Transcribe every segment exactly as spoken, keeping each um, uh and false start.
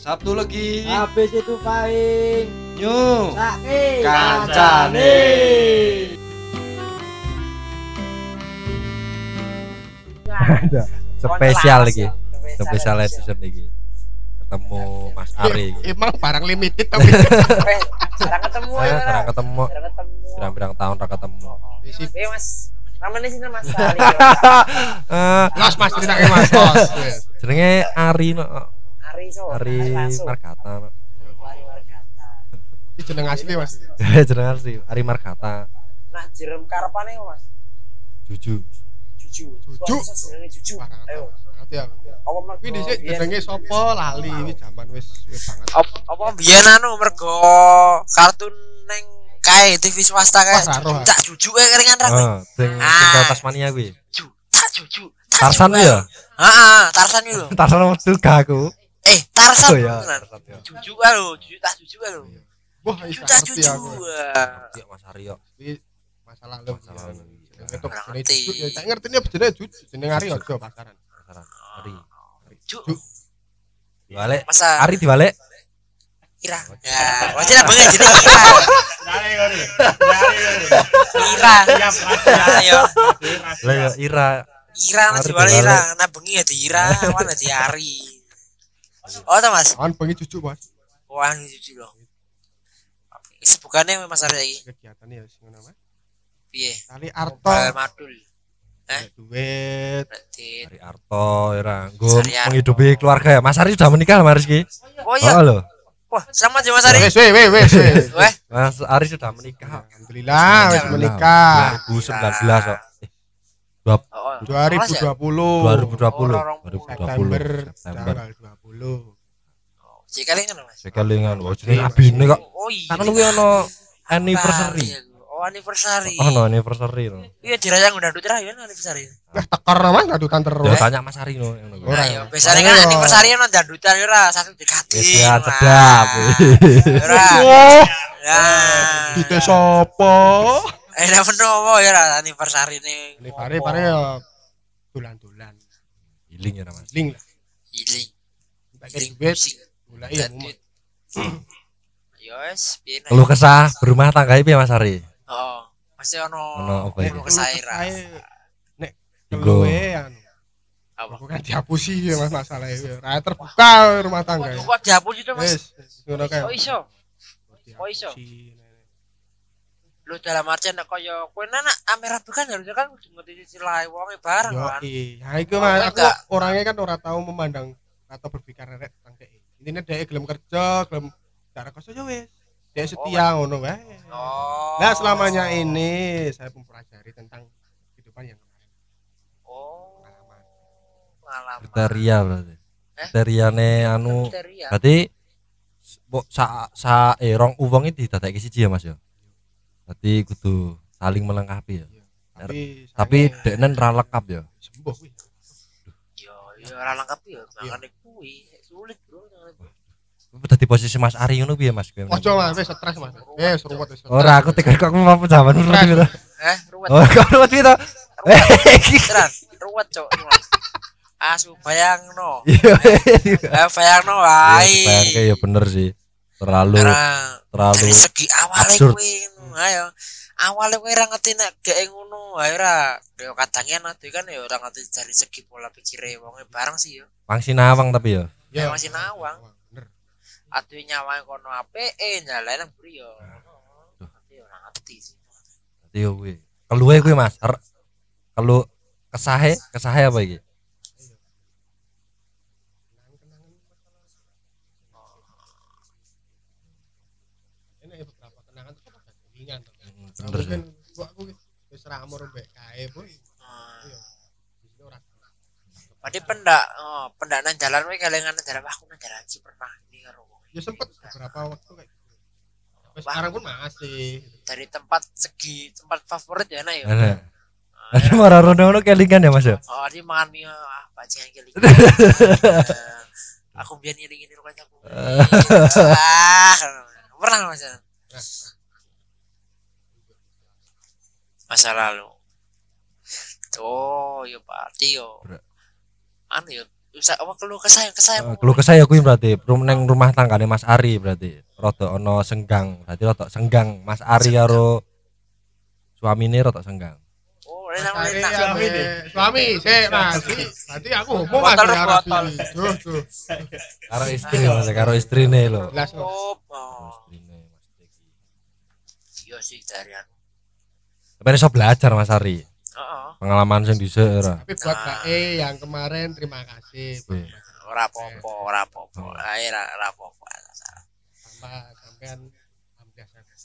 Sabtu lagi. Habis itu paling Nyu. Saiki Kancane. Spesial lagi. Spesial edition lagi. Ketemu Mas Ari. Emang barang limited tapi Jarang ketemu ya. Jarang ketemu. Jarang ketemu. Pirang-pirang tahun ra ketemu. Eh Mas, namanya sih Mas Ali. Eh, Mas Mas ceritake Mas Bos. jenenge Ari no. Ari so. Ari Langsung. Margata no. Ari Margata. Iki jeneng asli Mas. Jeneng asli Ari Margata. Nah, jerem karepane Mas. Juju. Juju. Juju. Jenenge Juju. Ayo. Ngerti aku. Apa mergo? Kuwi dhisik jenenge sapa lali iki jaman wis wis banget. Apa apa biyen anu mergo kartun neng kae T V swasta kae. Wah, roh. Cak Juju kae keringan ra kuwi. Oh, sing Ah. sing Tasmania kuwi. Juju. Cak Juju. Cak Tarsan Juju. ya? Heeh, Tarsan iki lho. Tarsan metu gak aku. Eh, Tarsan. Oh ya, beneran. Tarsan ya. Juju kae lho, Juju tak Juju kae lho. Wah, wis Juju tak ngerti Juju. aku. Iya Mas Ari yo. Iki masalah lu. Masalah lu. Jenenge tok Ngerti. jenenge Juju ya tak ngerti ini jenenge Juju, jeneng Ari aja pasaran. Pasaran. Ari. Ju. Diwalek. Masa Ari diwalek. Ira. Ya, wajib lah banget jadi Ira. Ira. Ayo. Lah ya Ira. Ira Ari nanti balik diwale. Ira. Nah bengi ya di Ira, mana di Ari. Oh, ta Mas. Kawan bengi Juju Bos. Wah, jujur loh. Sebukannya Mas Ari lagi. Kegiatan ya sing ngono Mas. Piye? Kali Arto. Bal madul. Eh? Duit. Berarti. Ari Arto Ira. Nggo Ari Arto. menghidupi keluarga ya. Mas Ari sudah menikah Mas Rizky. Oh iya. Oh lho. Wah, selamat ya Mas Ari. Wes wes wes wes. wes. Weh, Mas Ari sudah menikah. Alhamdulillah wis menikah. dua ribu sembilan belas kok. Eh, oh, dua ribu dua puluh. dua ribu dua puluh. Orang- dua ribu dua puluh. September September. tanggal dua puluh. si kali kan Mas. Sekelingan. Oh, jenenge abine kok. Oh iya. Kan kuwi ono anniversary. Oh, anniversary. Oh, no anniversary no. Iya, dirayang udah duduk ya anniversary. Wah tekar Mas ngadutan Ya terus. tanya Mas Ari no. ngono kuwi. Nah, yo biasanya kan Ayo. anniversary ono dandutan ora satu dikati. Wis ya sedap. Ora. Wah, Ya. dite sapa? Eh, ora menowo ya ora anniversary ne. Ini pare pare ya dolan-dolan. Healing ya Mas. Link lah. Iling. Pakai Iling duit. pusing. Mulai ya Dan mumet. duit. Yo wes, piye nek. Keluh kesah berumah tangga piye Mas Ari? Oh, masih ono Ono apa iki? ono kesairan. Nek Iku. keluwe anu. Apa? Aku kan dihapusi ya Mas masalahnya. Ra terbuka rumah tangga. Kok dihapus itu Mas? Wes, ngono kae. Oh iso. Oh, iso. Dihapusi. Lu dalam artian nek kaya kowe nak amera kan harusnya kan kudu ngerti istilah wonge bareng Yo, kan. iya. Itu Oh, Mas, kowe aku enggak. orangnya kan ora tahu memandang atau berpikir rek tentang dhek. Intine dhek gelem kerja, gelem cara koso yo wis. Dhek setia ngono wae. Oh. Nah, selamanya ini saya mempelajari tentang kehidupan yang kemarin. Oh. Pengalaman. Pengalaman. Kriteria berarti. Eh? Kriteriane anu Kriteria. berarti mbok sa sa eh rong uwong iki didadekke siji ya Mas ya. Berarti kudu saling melengkapi ya. Tapi Tapi sayangnya deknen ra lengkap ya. sembuh wih. Yo, yo ora lengkap yo, makane kuwi sulit, Bro. Dadi posisi Mas Ari ngono piye Mas? Kowe? Ojo Mas, wis stres Mas. Eh, ruwet wis. Ora aku tekan kok mau jaman ngono Stres. gitu. Eh, ruwet. Oh, kok ruwet gitu. Tenan, ruwet, Cok. Asu bayangno. Iya. Eh, bayangno wae. Bayangke ya bener sih. Terlalu Karena terlalu dari segi awale absurd. kuwi ngono, ayo. Awale kowe ora ngerti nek gek ngono, ayo ora. Yo kadangnya nanti kan ya ora ngerti dari segi pola pikire wonge bareng sih yo. pangsinawang tapi ya. Ya masih nawang. Bener. Atuh nyawa kono apike, nyalain buri yo. Tapi ora ngerti sih. Dadi yo kuwi. Keluhe kuwi Mas. Er- Kelu kesahe, kesahe apa iki? Ini ya beberapa kenangan tuh kan ringan. Bener sih. Mungkin gua aku wis ra amur mbek kae, Bu. Hmm. Iya. Di sini ora. Berarti pendak, oh, pendak nang jalan kowe kelingan nang jalan, wah aku nang jalan iki pernah ini karo wong. Ya sempet beberapa waktu kayak gitu. Sampai sekarang pun masih. Dari tempat segi tempat favorit ya enak ya. Ana. Ada marah rono kelingan ya Mas ya. Oh, dia makan mie ah bajingan geli. Aku biar ngiring-ngiring rumahnya aku. Ah, pernah Mas. Masa lalu. Oh, yo berarti yo. Ber- Anu yo Usah apa keluh kesah kesah. Eh, Keluh kesah ya kuwi berarti rum neng rumah tanggane Mas Ari berarti. Rada ana senggang. Berarti rada senggang Mas Ari karo suamine rada senggang. Oh, Mas enak Ari enak. suami suami sik Mas nanti aku ngomong Mas Botol, ya botol. rapi tuh tuh Karo istri Mas, karo istrine lho. jelas Mas. Oh, Istrine Mas Teki. iya sih dari aku. Tapi iso belajar Mas Ari. Heeh. Pengalaman sing dhisik ora. Tapi buat Mbak E yang kemarin terima kasih Wih. Ora apa-apa, ora apa-apa. Ae ora ora apa-apa. sama sampean alhamdulillah saya bisa.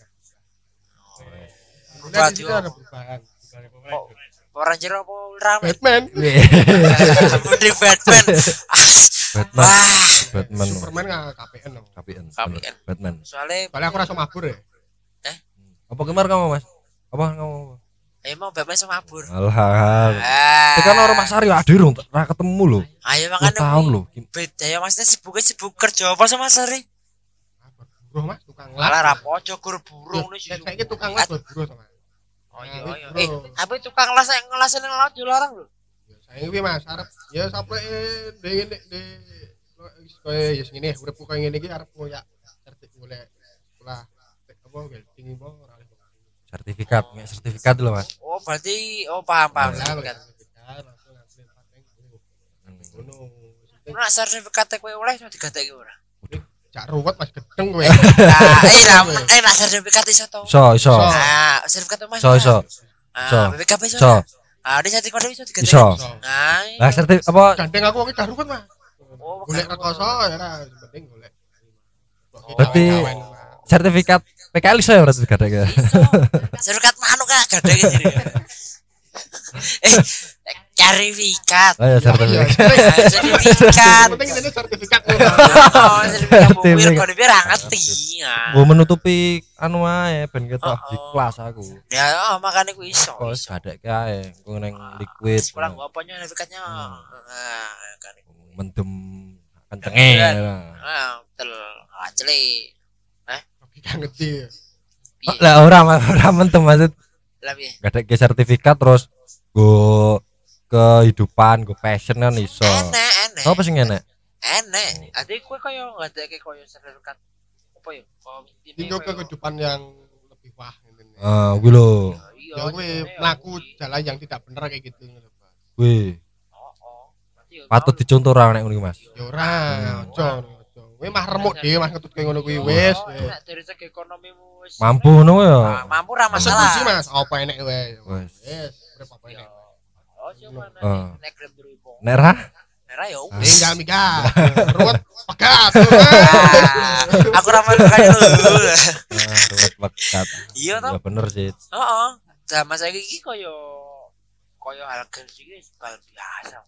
Berubah Udah di situ ada perubahan. Dari pemain. Orang jero apa rame? Batman, Mending Batman. Batman. Wah, Batman. Superman nggak K P N dong. K P N. K P N. Batman. soalnya Soalnya aku rasa mabur ya. Apa kemar kamu Mas? Apa kamu? emang Batman sama mabur. Alah. Ah. Tekan orang Mas Ari ade rung ra ketemu lho. Ayo Dua makanya tahun lho. beda ya maksudnya sibuknya sibuk kerja apa sama Sari? Buruh Mas, tukang las. Malah rapojo kur burung nih Ya, saya ini tukang las buat buruh sama. Oh iya Nah, iya. bro. Eh, tapi tukang las yang ngelasin yang laut juga larang lho. Ya, saya ini Mas, arep ya sampai de ngene de koyo ya ngene urip kok ngene iki arep ngoyak sertif golek sekolah apa welding apa ora oleh. Sertifikat, nggak sertifikat dulu Mas. Oh berarti oh paham paham Ya, sertifikat. sertifikat langsung ngambil paten ngono. Nah sertifikat kowe oleh iso digatek ora? Jak ruwet Mas gedeng kowe. Nah, eh lah eh nak sertifikat iso to. Iso, iso. Ah, sertifikat Mas. Iso, iso. Iso. Ah, B P K B iso. Iso. Ah, di sertifikat iso digatek. Iso. Nah, Lah sertif apa Gandeng aku wong gak ruwet Mas. Oh, Golek bukan. rekoso ya ora penting golek. Berarti- sertifikat P K L iso ya berarti gadek ya. sertifikat manuk kan gede gitu. Eh, sertifikat. Oh ya sertifikat. Ah, sertifikat. Penting ini sertifikat. Oh, sertifikat bukti Sertifikat. kok biar ngerti. Ah. Gua menutupi anu ae ben ketok Oh, di oh. kelas aku. Ya, oh, makanya ku iso. Kok iso. gadek ae, ku neng liquid. Sekolah gua apanya sertifikatnya. Hmm. Ah, kan. Mendem kencenge. Ah, betul. Ah, celi. Gak ngerti. Oh, lah ora Mas, ora mendem maksud Lebih. gadek sertifikat terus go kehidupan, go passion kan iso. Enek, enek. Sopo sing enek? Enek. Ade kowe koyo ngadeke koyo sertifikat apa ya? Oh, Ini ke kehidupan yang lebih wah ngene. Ah, kuwi lho. Iya. Ya kowe mlaku jalan yang tidak benar kayak gitu ngono, Pak. Kuwi Oh, oh. Berarti ya patut tahu. dicontoh ora nek ngono iki, Mas. Ya ora, ojo. ojo. Kowe mah remuk dhewe mah ketut kowe ngono kuwi wis. Oh, nek dari segi ekonomimu wis Mampu ngono ya. Ah, mampu ra Eksekusi masalah. Mas, apa enek kowe. Wis. Wis, urip apa enek. Oh, cuma Ah. nek grem durimu. Nek ra Nek ra ya wis. Tinggal mika. Ruwet pegat. Ah, Aku ra melu kaya lu. ah, ruwet pekat. Iya Ya toh? bener sih. Heeh. Zaman saiki iki koyo koyo harga iki wis bal biasa.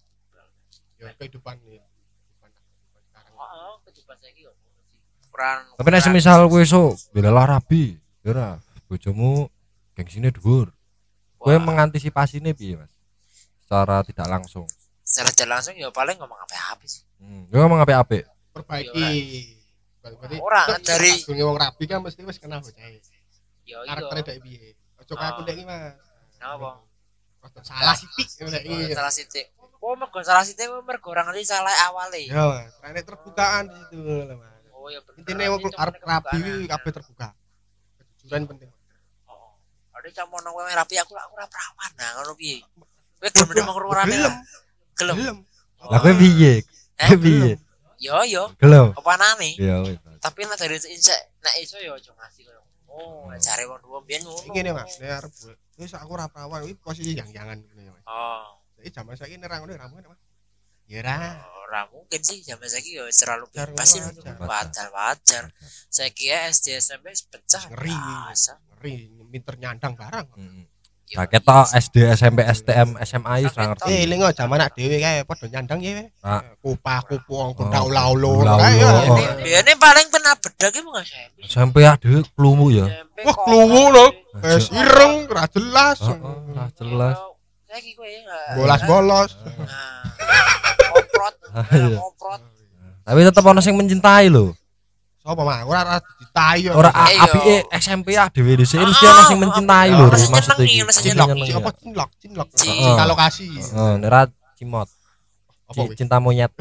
Ya kehidupan ya. Kehidupan sekarang. Heeh, kehidupan saiki yo. Kurang. Tapi nek semisal kowe esuk bela lah rabi, ya ora. Bojomu gengsine dhuwur. Kowe mengantisipasine piye, Mas? Secara tidak langsung. secara jalan langsung ya paling ngomong apa-apa sih. Hmm, yo ngomong apik-apik. Perbaiki. Berarti Ora, dari- dari wong rapi kan mesti wis kenal bocah. Yo Karaktere iya. dek piye. Ojo kayak aku Oh. dek iki, Mas. Napa? Rada salah sithik ngono dek iki. Salah sithik. Oh, mergo salah sithik mergo ora ngerti salah awale. Ya, Mas. Rene terbukaan di situ lho, Mas. Oh ya bener. Intine wong arep rapi iki kabeh terbuka. Kejujuran penting. Oh. Ada camono kowe rapi aku aku ora perawan. Nah, ngono piye? Kowe gelem demeng rurane. Gelem. Gelem. Gelem. Lah kowe piye? Eh, Kowe piye? Yo yo, Gelem. apa nane? Ya wis. Tapi nek dari insek nek iso yo aja ngasih koyo. Oh, nek jare wong tuwa biyen ngono. Iki ngene, Mas. Nek arep wis aku ora perawan iki posisi yang-yangan ngono ya, Mas. Oh. Saiki jaman saiki nek ra ngono ra mungkin, Mas. Ya ora. Ora mungkin sih zaman saiki yo terlalu Wajar, bebas sih. wajar. Wajar wajar. Saiki ya S D S M P pecah. Ngeri. biasa. Ngeri minter nyandang barang. Heeh. Yo, Lah ketok S D, S M P, S T M, S M A wis ora Eh, ngerti. lingo jaman nak dhewe kae padha nyandang ya. Ah. Kupah kupu wong Oh, kundak ulah-ulah. ulah-ulah. Kae, ya. Oh. Ini biasanya paling pernah bedak itu nggak S M P. S M P ade klumu ya. S M P Wah, kok- kluwu lho. Wis ireng, ra jelas. Heeh, ora jelas. Saiki kowe nggak- Bolas-bolos. Nah, Ngoprot, Iya. ngoprot. Tapi tetep ana sing mencintai lho. Sapa mah? Ora ora ditayu. Ora Eh, yo. apike S M P dhewe dhisik mesti ana sing mencintai lho Ono sing maksud nyenengi, iki. ono sing cinlok, nyenengi. apa cinlok, cinlok. Cinlok. Cinta lokasi. Heeh, nek ra cimot. Apa Ci- cinta monyet.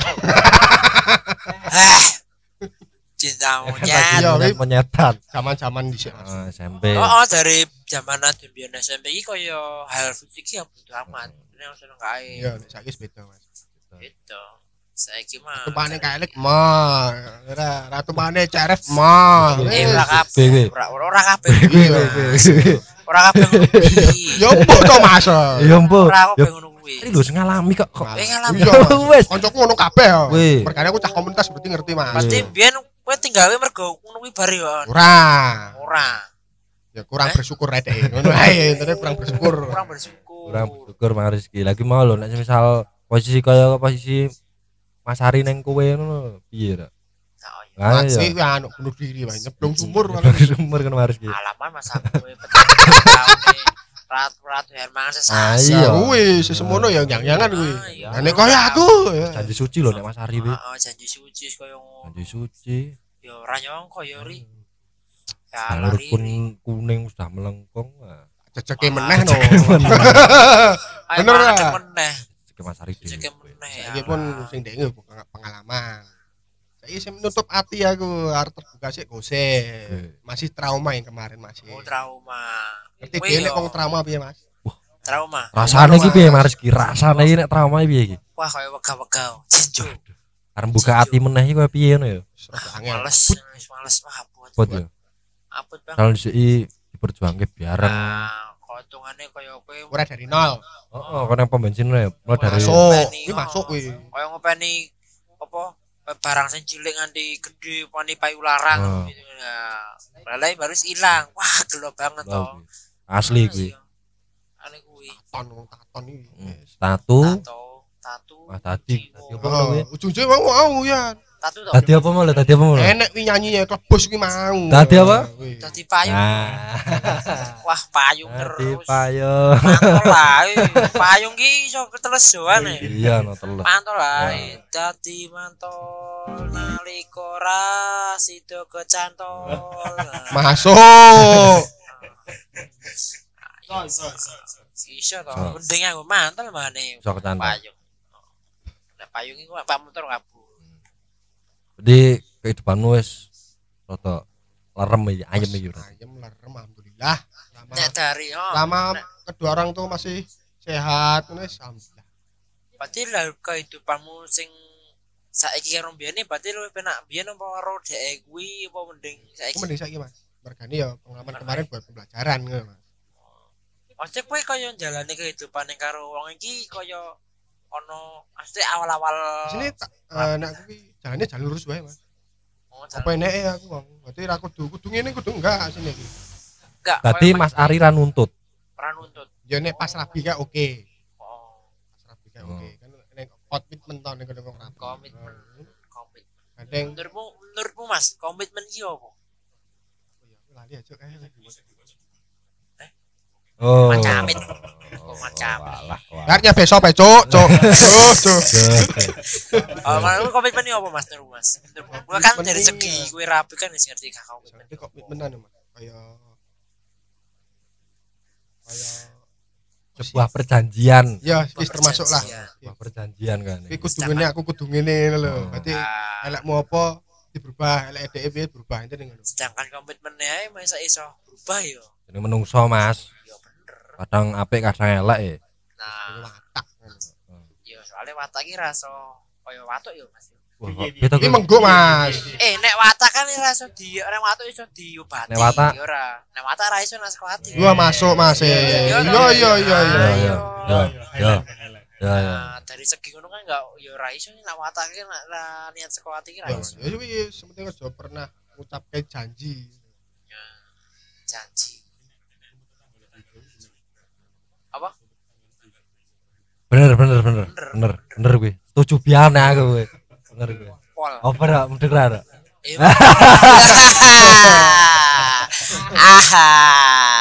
Eh. Cinta monyet. Iya, Monyet- wih. monyetan. Zaman-zaman dhisik Mas. Ah, S M P. Oh, oh dari zaman Adembian S M P iki koyo hal fisik iki ya bodo amat. Ini yang seneng kae. Iya, nek saiki wis beda Mas. Gitu. Saiki mah. Tupane kaelik mah. Ora, ratu mane ceref mah. Eh Wis. ora kabeh. Kowe. Ora ora kabeh. Iya. Ora kabeh ngono kuwi. Ya mbok to Mas. Ya mbok. Ora kabeh Ya ngono kuwi. ini lho sing ngalami kok kok. Eh ngalami. Iya. Wes. Koncoku ngono kabeh. Wih. Mergane aku cah komunitas berarti ngerti Mas. Pasti biyen kowe tinggalnya mergo ngono kuwi bare yo. Ora. Ora. Ya kurang Eh? bersyukur rek deh. Ngono ae, intine kurang bersyukur. Kurang bersyukur. Kurang bersyukur Mang Rizky. Lagi mau lho nek misal posisi kaya posisi Mas Ari neng kowe ngono piye ra? Oh, iya. Lah Masih ya. anu bunuh diri wae, nyeblong sumur Sumur kan Mas Rizky. Alaman mas aku kowe petane ratu-ratu Hermangan Ah, sesasi. iya. Ya kuwi sesemono ya nyang-nyangan kuwi. Ah, iya. Nah nek kaya aku ya. Janji suci lho nek Mas Ari kuwi. Heeh, janji suci koyo ngono. Janji suci. Ya ora nyangka ya ri. Ya Jalur lari. pun kuning sudah melengkung. Wah, Jejeke meneh no. Ayo bener makan lah. meneh. Cek Mas Ari dhewe. Cek meneh ya. Iki pun sing denge pengalaman. Saiki sing menutup hati aku arep terbuka sik gosip. Masih trauma yang kemarin masih. Oh trauma. Ngerti Kowe dia nek yo wong trauma piye Mas? trauma. Rasane iki piye Mas Rizky? Rasane iki nek trauma iki piye iki? Wah koyo wega-wega. Jinjo. Arep buka ati meneh iki koyo piye ngono ya? Serba angel. Males, wis males wah abot. Buat ya. Abot bang. Kalau dhisiki diperjuangke bareng. Nah, kotongane koyo kowe Ora dari nol. Heeh, kon yang pom bensin ya, mulai dari Masuk. ngopeni, Iki oh. masuk kuwi. koyo ngopeni apa barang sing cilik nganti gede pani payu larang Oh. gitu ya. Lalai baru ilang. Wah, gelo banget Lho, toh. kuwi. Asli kuwi. Iya. Ane kuwi. Ton wong taton iki. Hmm, Tatu. Tato, tatu. Wah, tadi. jiwo. Tadi apa ngono kuwi? Oh, ujung-ujungnya mau mau ya. Tatu toh. Tadi apa mau? Tadi apa mau? Enek wi nyanyi ya klebus kuwi mau. Tadi apa? Kuwi. Dadi payung. Nah, Wah, payung tadi terus. payung. Mantol lah. eh. Payung ki iso ketelesuan e. Iya, no telus. Mantol lah. eh. Dadi mantol nalika ora sida kecantol. Masuk. Iso to. So. Mending aku mantol mane. Iso kecantol. Payung. Nah, payung iku Pak motor kabur. Jadi kehidupanmu wis rada lerem iki, ayem iki. Bro. Ayem lerem alhamdulillah. Lama, Nek dari oh. lama nek- kedua orang tuh masih sehat ngono wis alhamdulillah. Berarti lah kehidupanmu sing saiki karo mbiyene berarti luwih penak biyen apa karo dhek kuwi apa mending Aku saiki? mending saiki Mas. Mergane ya pengalaman kemarin buat pembelajaran ngono Mas. Maksudnya kowe kaya njalani kehidupan yang karo wong iki kaya ono maksudnya awal-awal Di sini tak eh, nek aku ki jalannya jalur lurus wae Mas. oh, Apa eneke aku wong. Berarti ra kudu kudu ngene kudu enggak sini iki. enggak Tadi Mas Ari ra nuntut. ora nuntut. Ya nek pas rabi kayak oke. Oh, Pas rabi kayak oke. Kan nek komitmen to nek nek rabi. komitmen. Komitmen. Kadang Menurutmu menurutmu Mas, komitmen iki opo? lali aja kayak lagi. Oh. Macamit. Oh, macam. walah, walah. Artinya besok pe cuk, cuk. Cuk, cuk. Oh, menurutmu komitmen iki opo Mas? Menurutmu Mas. Menurutmu Gua kan dari Komitmen segi iya. kowe rapi kan wis ngerti gak komitmen. Jadi komitmenan ya Mas. Kayak kayak Sebuah perjanjian. ya wis termasuk lah. Perjanjian. Sebuah perjanjian kan. Iki kudu ngene aku kudu ngene lho. Oh. Berarti Ah, elekmu apa diberubah, elek edeke piye berubah itu ngono. sedangkan komitmennya ae masa iso berubah yo. Ini menungso Mas. Yo bener. Kadang apik kadang elek ya. Nah, Watak ngono. yo soalnya watak iki rasa kaya watuk yo Mas. Wah, kok beda Iki kok. menggo Mas. Eh nek watak kan rasa di nek watuk iso diobati. Nek watak- yo ora. Nek watak ra iso nang sekoati. Gua masuk Mas. Iya iya iya iya iya. Ya, ya, ya, ya. Ya, ya. Nah, dari segi ngono kan enggak yo ra iso nek watak ki nek ra niat sekoati ki ra Ya iso. ya wis penting aja pernah ngucapke janji. Janji. Apa? Bener, bener, bener. Bener, bener gue. Setuju pian aku gue. Bener gue. Pol. Apa rak mendek ra? Eh, Aha.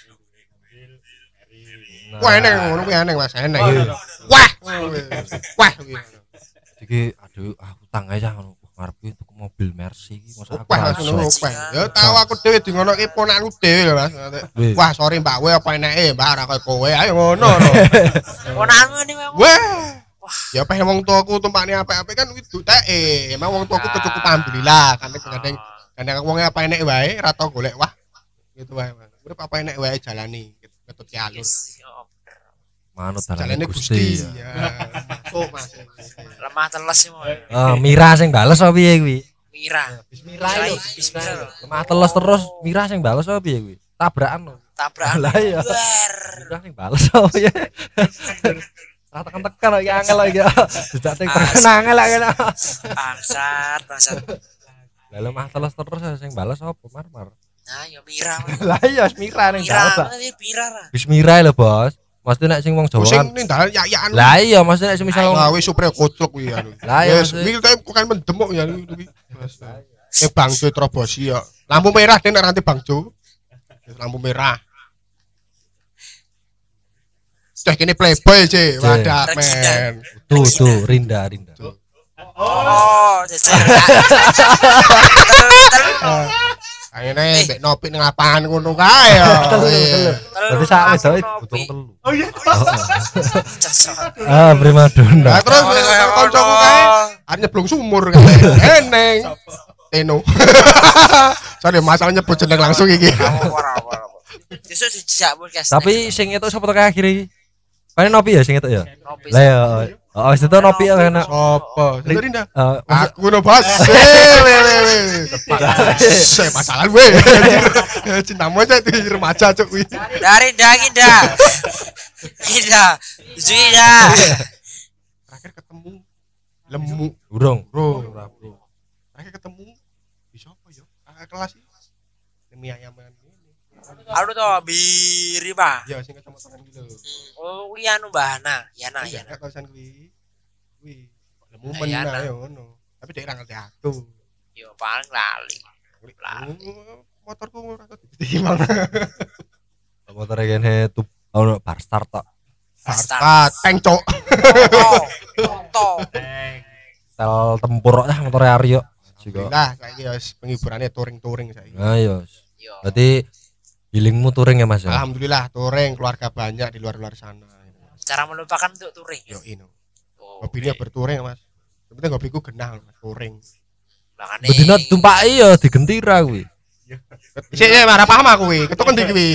Wah enek ngono kuwi enek Mas, enek. Wah. Wah. Iki aduh ah utang aja ngono. Ngarep iki tuku mobil Mercy iki masa aku Wah ngono langsung. wah. Ya tahu aku dhewe di ngono ki ponakku dhewe lho Mas. Wih. Wah sorry Mbak kowe apa eneke Mbak ora koyo kowe ayo ngono lho. Ponakanmu ini memang. Wah. Ya apa wong tuaku tumpakne apik-apik kan kuwi duteke. Emang wong tuaku kecukupan alhamdulillah. Kadang-kadang kadang wong apa enek wae ra tau golek wah. Gitu wae. Urip apa enek wae jalani ketut alur. Manut Jalane dalane Gusti. Gusti. Ya. Masuk Mas. Lemah teles sih mau. Ah, Mira sing bales apa piye kuwi? Mira. Bismillah lho. Bismillah. Lemah teles terus Mira sing bales apa piye kuwi? Tabrakan lho. Tabrakan. Lah iya. Ber. Mira sing bales apa ya? Ra tekan-tekan lagi angel lagi. Dijak teng angel lagi. Bangsat, bangsat. Lah lemah teles terus sing bales apa Marmar? Nah, ya Mira. Lah iya Mira ning Mira, bales. mana Mira lah. Wis Mira lho, Bos. Mesti nek sing wong Jawa Sing kan. ning dalan yak-yakan. Lah iya, mesti nek misal Ah wis supre koclok kuwi anu. Lah iya, Wis maksudnya- iki kayak bukan mendemuk ya kuwi. Eh bangjo Trobosi ya. Lampu merah nek nanti bangjo. Lampu merah. Sudah kini playboy sih, wadah men. tuh tuh Rinda Rinda. Oh, jajar. Akhirnya mbek nopi ning lapangan ngono kae ya. Berarti sak wedoke butuh telu. Oh iya. Ah, primadona. Nah, terus kancaku kae arep nyeblong sumur kae. Eneng. Teno. Sorry masalah nyebut jeneng langsung iki. Justru dijak podcast. Tapi sing itu sapa to kae akhir iki? Kan Nopi ya sing itu ya? Nopi. Lah ya. Oh, wis itu Nopi ya kan. Sopo? Rinda. Eh, Aku no bos. Saya masalah gue. Cintamu aja di remaja cuk kuwi. Dari dah Inda. Inda. Tujuh Inda. Terakhir ketemu lemu, Urung. bro. Terakhir ketemu di sopo yo? Kakak kelas iki. Demi ayaman ini. Aduh toh biri mah. Ya sing kecamatan gitu. Oh, kuwi anu Bahana. Yana Iya, yana. kawasan kuwi. Kuwi lemu Nah, men ya, nah. ae ngono. Tapi dhek ra ngerti aku. Yo paling lali. Lali. Oh, motorku ora tau ditimbang. Motor kene tuh ono bar start tok. Start tank cok. Foto. Tel tempur ya motor Aryo. Juga. Lah saiki ya penghiburannya touring-touring saiki. Nah, iya. Yo. Berarti healingmu touring ya Mas ya? Alhamdulillah touring keluarga banyak di luar-luar sana. Cara melupakan untuk touring. Yo ino. Oh, Hobinya oke. bertouring Mas. Yang penting hobiku genah Mas, touring. Makane. Bedino tumpaki ya digentira kuwi. Sik sik marah paham aku kuwi. Ketuk endi kuwi?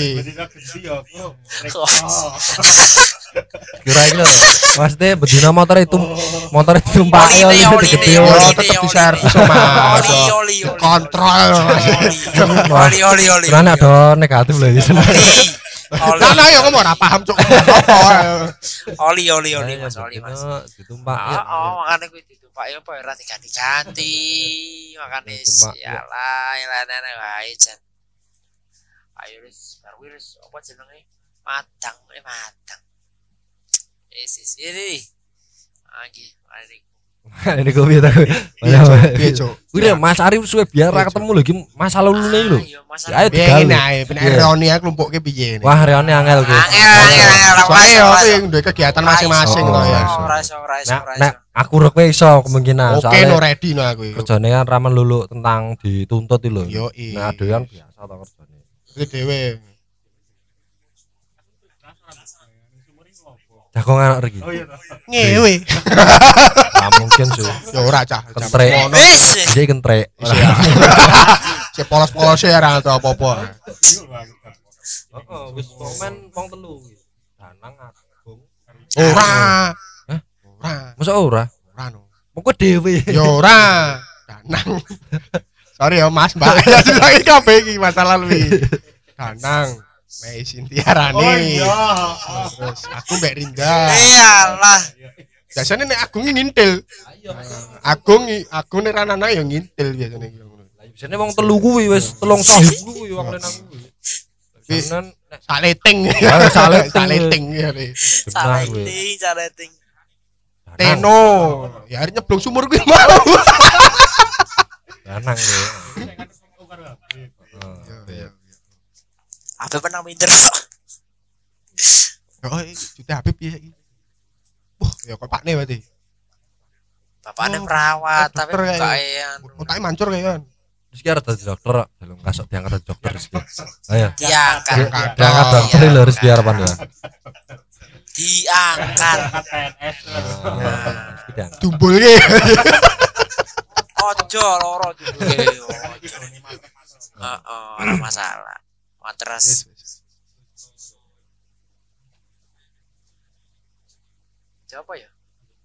Kira iki lho. Maksudnya bedino motor itu motor itu tumpaki Oli, ya oli, digede. oli, Yo oli, tetep oli, di servis Mas. Oli oli oli. Kontrol. Oli oli oli. Karena ada negatif lho iki. Oli. Kan ayo ngomong ora paham cuk. Apa? Oli oli oli Mas, oli Mas. Ditumpaki. Oh, oh, makanya gue itu Pak ya Pak ora diganti-ganti. Makane Cuma, ya. sialah elane wae jan. Ayo wis baru wis apa jenenge? Madang, eh madang. Wis wis ini. Lagi, mari. Ini gue biar tahu. Piye cuk? Piye cuk? Kuwi lho, Mas Arif suwe biar ra ketemu lho iki masa lulune iki lho. Ayo Mas. Ya, ayo Piye digal. ngene ae, ben Iya. ironi aku lumpuke piye ini. Wah, reone angel kuwi. Angel angel angel. Soalnya yo kuwi duwe kegiatan masing-masing Oh, to ya. iso. Ora iso ora iso Nah, ora nah, iso. aku rek kowe iso kemungkinan Oke no soalnya ready no aku. kerjane kan ramen lulu tentang dituntut iki lho. Yo i. Nah, dhewe kan biasa to kerjane. Iki dhewe. Jago anak iki. Ngewe. Nah, mungkin su. Ya ora cah. Kentrek. Ngono. Wis. Iki kentrek. Si polos-polos ya ora tau apa-apa. Heeh, wis komen wong telu iki. Danang Agung. Ora. Hah? Ora. Masa ora? Ora no. Mengko dhewe. Ya ora. Danang. Sorry ya Mas, Mbak. Ya lagi kabeh iki masalah luwi. Danang, Mei Sintia Rani. Oh iya. Terus aku Mbak Rinda. Iyalah. Biasanya nek Agung ngintil. Agung Agung nek ranana ya ngintil biasanya iki ngono. Biasane wong telu kuwi wis telung sahib kuwi wong lenang kuwi. Biasane nek Saleting. Ah, saleting. Saleting ya. Re. benar kuwi. Saleting, saleting. Teno. Ya hari nyeblong sumur kuwi mau. Lanang kuwi. Apa pernah minder? Oh, juta Habib ya iki. Wah, ya kok pakne berarti. Bapaknya Oh, perawat dokter tapi kayak- bukan. Otaknya mancur kayaknya. Terus ki arep dadi dokter kok. Belum kasok diangkat dadi dokter terus ki. Ayo. Diangkat. Diangkat. Diangkat dokter lho harus biar pan ya. diangkat. P N S. Nah, sidang. Dumbul ki. Ojo loro juga. Ojo. Heeh, ora masalah. Matras. Siapa ya?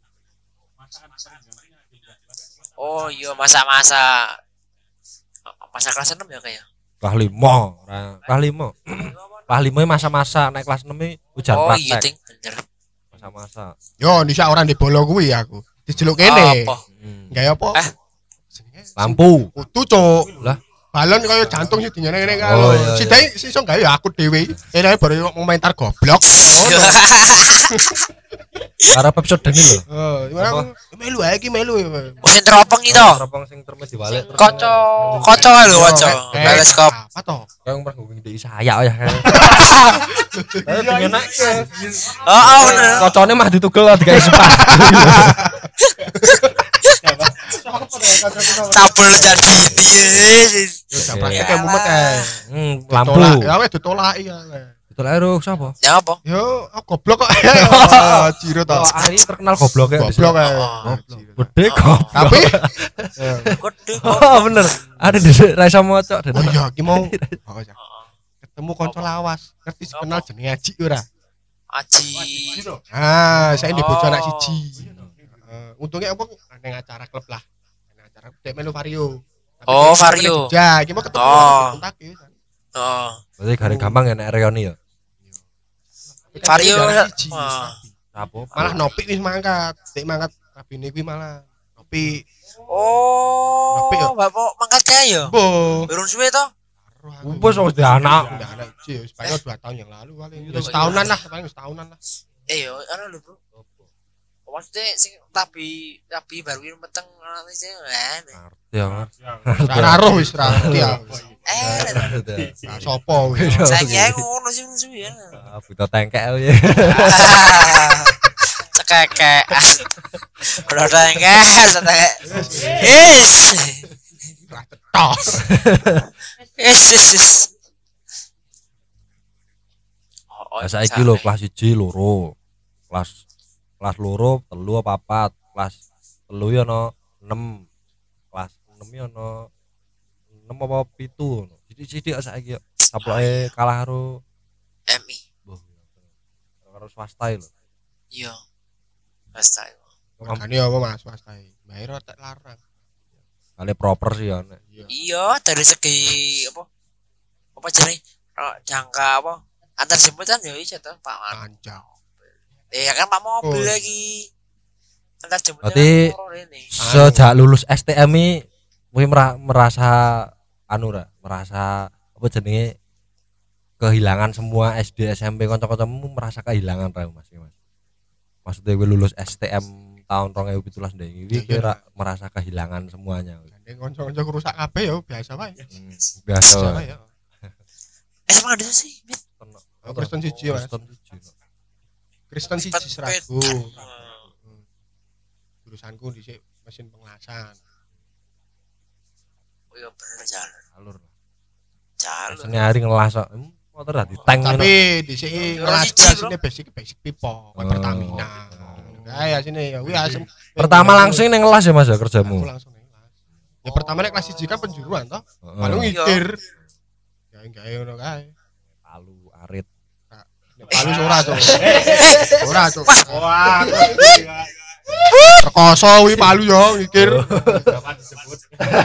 Oh iya masa-masa masa kelas enam ya kayak. Kelas lima, ora- kelas lima. Kelas lima masa-masa naik kelas enam iki ujian Oh iya praktek. ting bener. Masa-masa. Yo, ndisa ora ndek bolo kuwi aku. Dijeluk kene. Apa? Hmm. Gawe apa? Eh. Lampu. Kutu, Cuk. Lah. Balon kaya jantung sih dinyene ngene kan. Oh, iya, Si iya. Dai iso gawe ya aku dhewe. Enae baru komentar goblok. Para episode ini lho. Oh, gimana aku melu ae iki melu. Musim teropong itu. Teropong sing termes diwalik terus. Koco, koco lho koco. Eh, Teleskop. Apa to? Kayak ngomong ngomong di saya ya. Tapi enak. Oh, oh bener. Kocone mah ditugel digawe sepatu. Tabel jadi dia. Yo dapat kayak mumet ae. Hmm, lampu. Tolak, ya wis ditolaki ya. Betul ae Ruk, sapa? Ya apa? Yo, aku goblok kok. Oh, Ciro to. Oh, Ari terkenal goblok ya. Goblok ae. Oh. Gede goblok. Tapi Gede. Oh, bener. Ada di ra iso maca. oh iya iki mau oh, ya. Ketemu kanca lawas, ngerti sih kenal jenenge Aji ora? Aji. Ah, saya di bojo Oh. anak siji. Heeh, untungnya apa nang acara klub lah. Nang acara dek melu Vario. Tapi Oh, dia Vario. Ya, iki mau ketemu Oh. kontak ya. Oh, Berarti gare gampang ya nek reoni ya. Vario. Anak siji. Oh. Apa? Malah Nopi wis mangkat. Dek mangkat kabine kuwi malah Nopi. Oh, Tapi ya. bapak mangkat kaya ya? Bo. Urun suwe to? Wes wis di anak. Udah anak siji, wis paling dua tahun yang lalu paling. Ya, setahunan lah, paling setahunan lah. Eh yo, ana lho, Bro. Maksudnya sing tapi tapi baru ini meteng ana sing eh. Ngerti ya. Ora roh wis ra ngerti ya. Eh, Ra sopo wis. saya kira ngono sing suwe ya. Ah, buta tengkek ya. Cekek. Udah tengkek, cekek. Is. Ra cetok. Is. is. Oh, Lah saiki lho kelas siji loro. Kelas kelas loro telu apa papat, kelas telu ya ono enam. Kelas enam ya ono enam apa pitu ngono. Sithik-sithik saiki ya. Sapoke kalah karo M I. Boh, karo swasta lho. Iya. Pasti. Makane apa Mas swasta iki? Bayar tak larang. Kali proper sih ya nek. Iya, dari segi apa? Apa jenenge? Oh, jangka apa? Antar jemputan ya iso to, Pak. Kancang. Eh ya kan Pak mobil Oh. lagi. Antar jemputan. Berarti sejak lulus S T M i kowe mera- merasa anu ra, merasa apa jenenge kehilangan semua S D S M P kanca-kancamu merasa kehilangan ra Mas? Mas. Maksudnya kowe lulus S T M tahun dua ribu tujuh belas ndek iki kowe ra merasa kehilangan semuanya. Nek kanca-kanca rusak kabeh ya biasa wae. Hmm, biasa Biasa wae. wae ya. Eh sama ada sih, Mit. Oh, Kristen siji Mas. Kristen siji. Kristen siji Pet- seragu. pet. Hmm. Jurusanku dhisik mesin pengelasan. Oh iya bener jalan. Alur. Jalan. Seni hari ngelas kok. Hmm, motor dah diteng ngono. Tapi dhisik Jurusan ngelas siji, sini basic basic pipo, Oh. Pertamina. Kayak sini ya, wih asem. Pertama langsung ning ngelas ya Mas ya Aku kerjamu. langsung ning kelas. Ya pertama nek kelas siji kan penjuruan toh. Heeh. Paling Iya. ngikir. Ya enggak ngono kae. Palu arit. Nek palu ora tuh. Ora tuh. Wah, Rekoso wi palu yo ngikir. kapan disebut?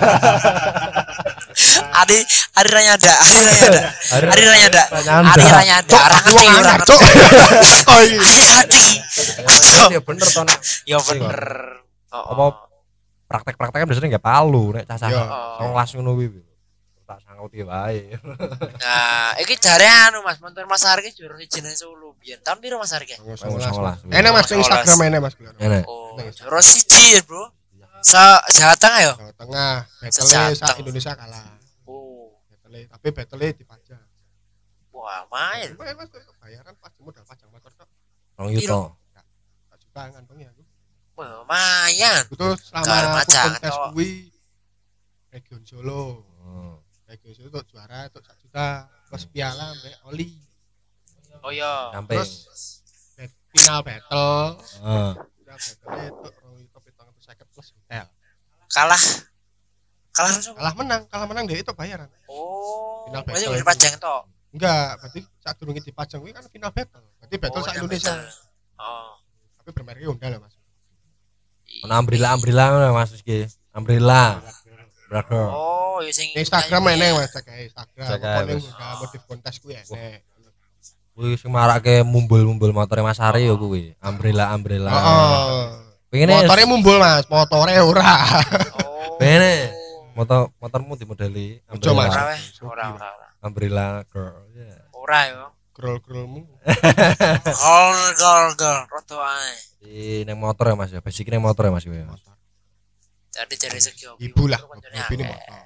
Adi Adi Ranyada, Adi Ranyada. Adi Ranyada. Ranyada. Adi Ranyada. Orang Wong ngerti, orang anyar, ngerti. Cuk. Oh iya. Adi ngerti. Aduh. Ya bener to nek Ya bener. Oh, Apa? praktek-praktek kan biasanya nggak palu nek cacah Iya. ngelas ngono kuwi. Tak sangauti wae. Nah, iki jare anu Mas, montor Mas Arki jurus jenenge Solo biyen. Tahun piro Mas Arki? Songolas. Enak Mas ning Instagram enak Mas. Enak. Oh, jurus siji ya, Bro. Sa Jawa Tengah ya? Jawa Tengah, battle Sejateng. sak Indonesia kalah. Oh, Battle tapi battle dipajang. wah main. Lumayan Mas, bayaran pas modal pajang motor tok. Rong yuto. Tak juga ngantongnya aku. Wah, lumayan. Itu Gar selama aku pajang, kontes Cok. kuwi Region Solo. Oh. Region Solo untuk juara untuk satu juta plus piala sampai oli. Oh iya. Sampai Terus final battle. Heeh. Final battle itu rong itu pitung atus seket plus hotel. Kalah. Kalah terus. apa? Kalah menang, kalah menang dia itu bayaran. Oh. Final Berarti battle udah itu. pajang toh. Enggak, berarti saat durunge dipajang kuwi kan final battle. Berarti battle Oh, sak final Indonesia. battle. Oh. Tapi bermerek Honda lah, Mas. Ono umbrella umbrella ngono Mas iki. Umbrella. Brother. Oh, ya sing Instagram nyanyi eneng ya. Mas, cek ae Instagram. Cek ae, Pokoknya Mas. Honda motif kontes kuwi enek. Kuwi sing marake mumbul-mumbul motore Mas Ari ya kuwi. Umbrella umbrella. Heeh. Pengene Motore mumbul, Mas, motore ora. Oh. Pengene motor motormu dimodeli Ojo, Mas. Ora weh, ora ora ora. umbrella girl. Ya. Ora yo. Grol-grolmu. Gol gol gol. Roto ae. Di nang motor ya Mas ya. Basic nang motor ya Mas ya. Jadi dari segi hobi. Ibu lah, Koncone hobi ini akeh. motor.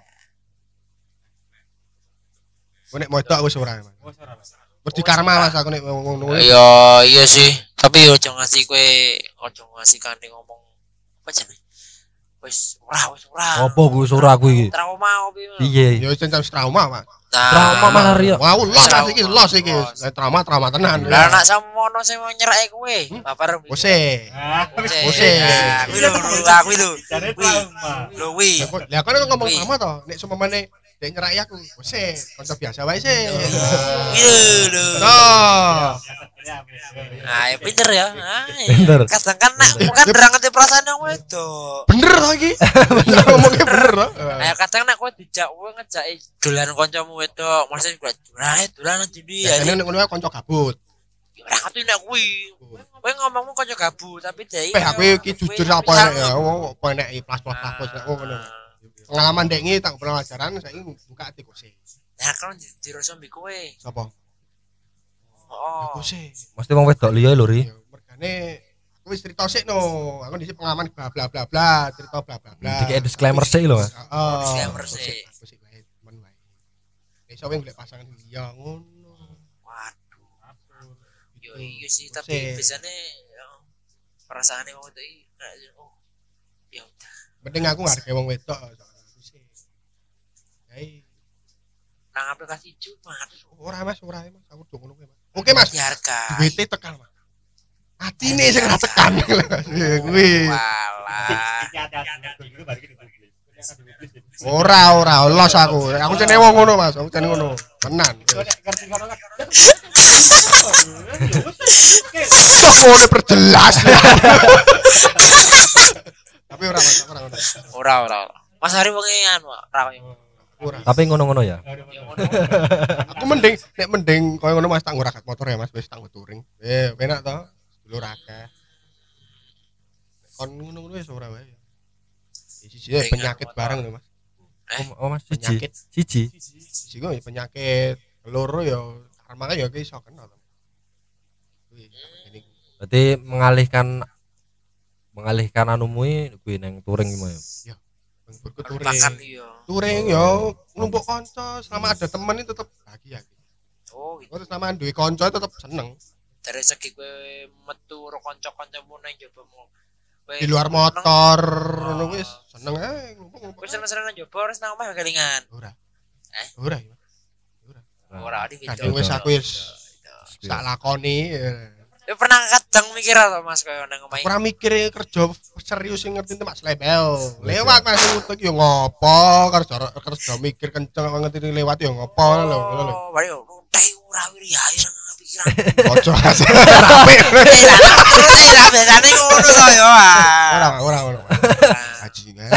Aku nek motor wis ora, Mas. Wis di karma, Mas, aku nek ngono. Iya, iya sih. Tapi ojo ngasih kowe, ojo ngasih kane ngomong apa jenenge? Wis ora, wis ora. Apa kuwi ora kuwi iki? Trauma opi. Piye? Ya wis trauma, Mas. Nah, Trauma Mas Ari. Wow, los Trauma. iki, los iki. Nek trauma trauma tenan. Lah anak samono sing mau nyerake kowe. Babar. Wis e. Wis. Wis. Kuwi lho, aku lho. Jare Kuwi. trauma. Lho kuwi. Lah kok nek ngomong Wih. trauma to, nek sumemane dek nyerai aku. Wis e, kanca biasa wae sih. Kuwi lho, lho. Nah, Nah, ya pinter ya. Ah, iya. Pinter. Kadang kan nak bukan derang ngerti perasaan yang wedok. bener to iki. Ngomongnya bener to. Ayo kadang nak kowe dijak kowe ngejaki dolan kancamu wedok, maksudnya kuwi dolan dolan ndi ya. Biasane nek ngono wae kanca gabut. Ora ngerti nek kuwi. Kowe ngomongmu kanca gabut tapi dhewe. Eh aku iki jujur apa nek ya, apa nek plus-plus plus nek ngono. Pengalaman dek iki tak pelajaran saiki buka ati kose. Nah, kan dirasa mbek kowe. Sapa? Oh. Kose. Mesti wong wedok liya lho Ri. Ya mergane aku wis cerita sik no. Aku dhisik pengalaman bla bla bla bla, cerita bla bla bla. Dikek disclaimer sik lho Mas. Heeh. Disclaimer sik. Aku sik wae temen wae. Nek iso golek pasangan liya ngono. Waduh. Yo iya sih, tapi Kose. biasanya ya, perasaane wong wedok iki kayak, oh. Ya udah. Penting aku ngargai wong wedok soalnya aku sih. Hei, Nang aplikasi cuma ora Mas, ora Mas, aku do ngono kuwi Mas. Oke Mas, dihargai. duwite tekan Mas. Atine sing ora tekan. Ya kuwi. Walah. Iki hati-hati dulu baru iki dibeli. Ora ora los aku. Aku cene wong ngono Mas, aku cene ngono. Tenan. Ngerti karo kan. Kok ngono perjelas. Tapi ora Mas, ora ngono. Ora ora. ora. Mas Hari wong anu ora koyo. Ora. Tapi ngono-ngono ya. Ya ngono. Aku mending nek mending koyo ngono Mas tak ngurakat motor ya Mas, wis tak touring. Eh, enak to. Dulur akeh. Kon ngono-ngono wis ora wae. Siji penyakit bareng lho Mas. Oh, oh Mas siji. Penyakit. Siji. Siji kok penyakit. Loro ya karma ya ki iso kena to. Kuwi ini Berarti mengalihkan mengalihkan anumu kuwi nang touring gimana ya? bengkurku touring. Makan iya. Touring ya numpuk kanca, selama ada temen itu tetep bahagia. Oh, gitu. Terus selama duwe kanca tetep seneng. Dari segi kowe metu karo kanca-kancamu nang njaba mu. Kowe Di luar motor ngono wis seneng ae numpuk-numpuk. Kowe seneng-seneng nang njaba terus nang omah kelingan. Ora. Eh? Ora ya. Ora di video. Kadang wis aku wis tak lakoni. Kowe pernah kadang mikir apa Mas koyo nang omah? Ora mikir kerja serius sing ngerti Mas Lebel. Lewat Mas utek yo ngopo, kerja kerja mikir kenceng kok ngerti lewat yo ngopo lho ngono lho. Oh, bari utai ura wiri ya nang pikiran. Ojo rapi. Lah biasane ngono to yo. Ora ora ora. Bajingan.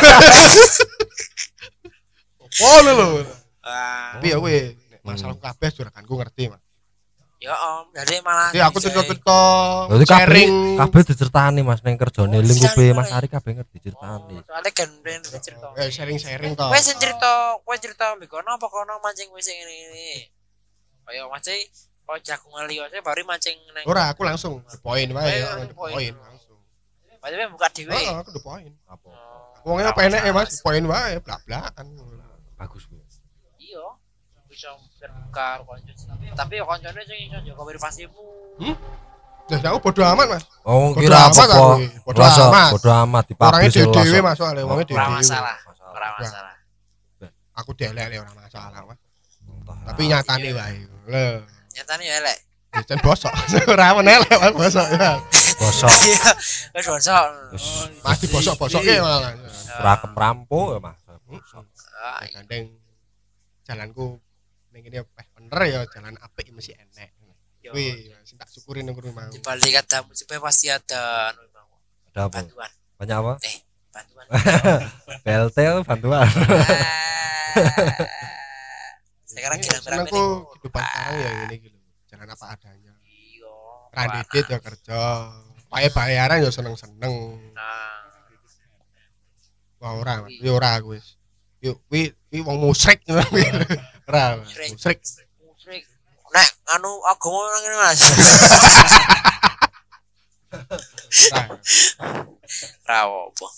Oh lho lho. Ah, Tapi ya kuwi nek masalah kabeh juraganku ngerti Mas. ya Om, jadi malah Jadi aku cerita-cerita Berarti kabeh sharing kabeh diceritani Mas nang kerjane Oh, lingkupe diceritani. Mas Ari kabeh ngerti diceritani. soalnya kan ben cerita. eh sharing-sharing to. Kowe sing cerita, kowe cerita mbek kono apa kono mancing wis ngene iki. Kaya mancing kok jagungan liya saya baru mancing nang. Ora aku langsung the point wae Oh, ya, the the point. point langsung. Padahal buka dhewe. Heeh, aku the point. Apa? Oh, Wongnya penek ya Mas, point wae blak-blakan. Bagus kuwi. iya. Bisa terbuka konco. Tapi ya koncone sing iso jaga privasimu. Lah aku bodo amat Mas. Oh Bodo kira amat apa aku, kok? bodo Rasa amat. bodo amat Orangnya dipublish dhewe langsung. Mas soalnya wongnya Ora dhewe. masalah. Ora masalah. Aku delek ora masalah Mas. Entah. Tapi nyatane wae. Lho. Nyatane ya elek. Jan bosok. Ora meneh lek bosok ya. Bosok. Iya, wis bosok. Wis Masih bosok-bosoke malah. rakem rampuk ya Mas. Bosok. Ah, Gandeng jalanku ning kene peh bener ya jalan apik mesti enek. yo. Kuwi sing tak syukuri nang kono mau. Di balik kata musibah pasti ada anu mau. Ada apa? Bantuan. Banyak apa? Eh, bantuan. B L T apa bantuan. Ah. Sekarang kira-kira Senengku kehidupan sekarang ya ngene iki lho. Jalan apa adanya. Iya. Randidit ya kerja. Wae bayaran ya seneng-seneng. Nah, Wah ora, Mas. Ya ora aku wis. Yo kuwi kuwi wong musyrik ngono kuwi. Ora, Mas. Musyrik. musrik. Nek anu agama nang ngene Mas. Ora. Rawo apa?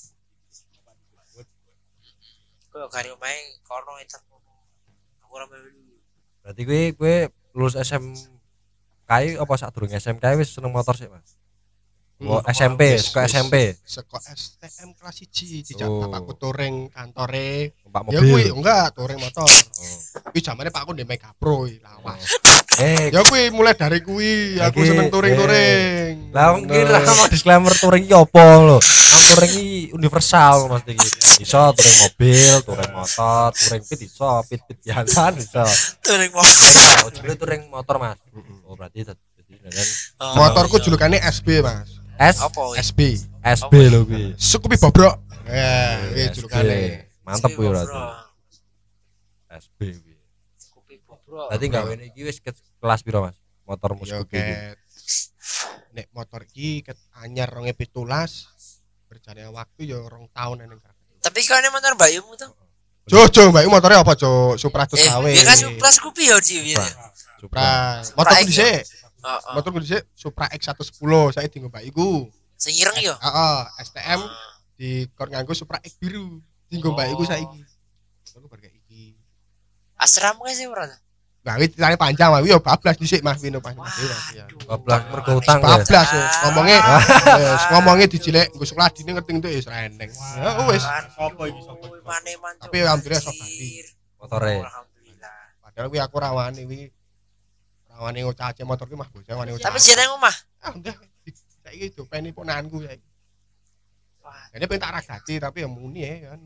Kok kari omahe kono itu. Aku ora melu. Berarti kowe kowe lulus S M K apa sadurunge S M K wis seneng motor sih Mas? Oh, S M P, suka S M P. Seko S T M kelas siji dijak Oh. bapakku touring kantore. Numpak Ya kuwi mobil. enggak touring motor. Oh. Kuwi zamane pakku ndek Mega Pro iki lawas. Eh, Ya kuwi mulai dari kuwi aku Lagi, seneng touring-touring. lah mungkin lah mau disclaimer touring iki opo lho. Kan touring iki universal Mas iki. Iso touring mobil, touring motor, touring pit iso, pit-pit biasa iso. Touring mau. Oh, jadi touring motor Mas. Oh, berarti jadi dan Motorku julukannya S B, Mas. S Apa? S B. S B lho kuwi. Sukupi bobrok. Ya, kuwi S B. julukane. Mantep kuwi berarti. S B kuwi. Kopi bro. Berarti gawene iki wis ke kelas piro Mas? Motormu Yo Scoopy iki. ket. Nek motor iki ket anyar rong ewu pitulas berjalannya waktu ya rong tahun neng. Tapi kan motor bayumu tuh. Jojo, Mbak, motornya apa, Jo? Supra Eh, Tusawe. dia kan plus kopi ya di Supra. Supra. Motorku X dhisik. Heeh. Motorku dhisik Supra X seratus sepuluh, saya tinggal Mbak iku. Sing ireng yo. Heeh, S T M di kor nganggo Supra X biru. Tinggal Mbak iku saiki. Motorku bar kayak iki. Asram kan sih ora. Nah, iki ceritane panjang, Mas. Yo bablas dhisik Mas Vino pas Mas. Ya. Bablas mergo utang ya. Bablas yo. Ngomongnya wis ngomongnya dijilek nggo sekolah dine ngerti itu wis reneng. Ya wis. Sopo iki, sopo iki? Mane-man. Tapi alhamdulillah sok bali. Motore. Alhamdulillah. Padahal kuwi aku rawani kuwi. Rawani ngocace motor ki mah bocah wani ngocace. Tapi jeneng omah. ah udah saiki dopeni ponakanku saiki. Wah, Jadi pengen tak ragati tapi ya muni ya kan.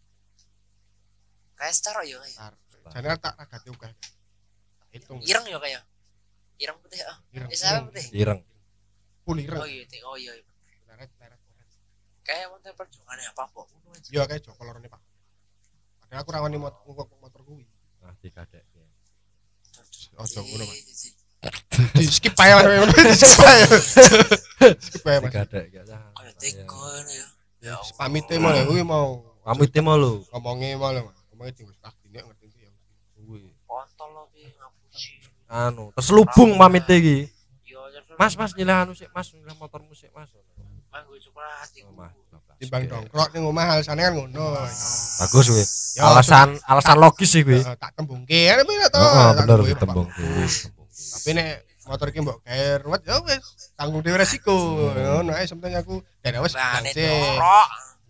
kayak star yo kayak. Tar. Jane tak ragati uga. Hitung. Ireng yo kayak. Ireng putih ah. Ireng. Eh sama putih. Ireng. Full ireng. Oh iya, ting- oh iya. iya. Leret leret. Kayak motor perjuangannya apa kok? Yo kayak Joko lorone Pak. Padahal aku rawani motor motor kuwi. Nah, dikadek. Ojo ngono Mas. Iya, iya, iya. Di skip ae Mas. Di skip ae. Skip ae Mas. Dikadek ya. Kayak teko ya. Ya Allah. Pamite mau ya kuwi mau Pamit mau lho. ngomongnya mau lho Mas. Ngomongnya tinggal tak dine ngerti ya. Kuwi. Kontol lo ki ngapusi. Anu, terselubung pamit iki. Yo, jadi- Mas, Mas nyilih anu sik, Mas, nyilih motor musik, Mas. Mang gue suka hati. Oh, Mas. Timbang dongkrok ning omah alasannya kan ngono. Bagus kuwi. Ya, Alasan alasan logis sih kuwi. Eh, tak tembungke kan bener to. Heeh, Tak bener tembungke, ditembung. Pak. Tapi nek motor iki mbok gawe ruwet ya wis tanggung dhewe resiko. Ngono ae sementing aku dan wis Nah, ini sih. dorok.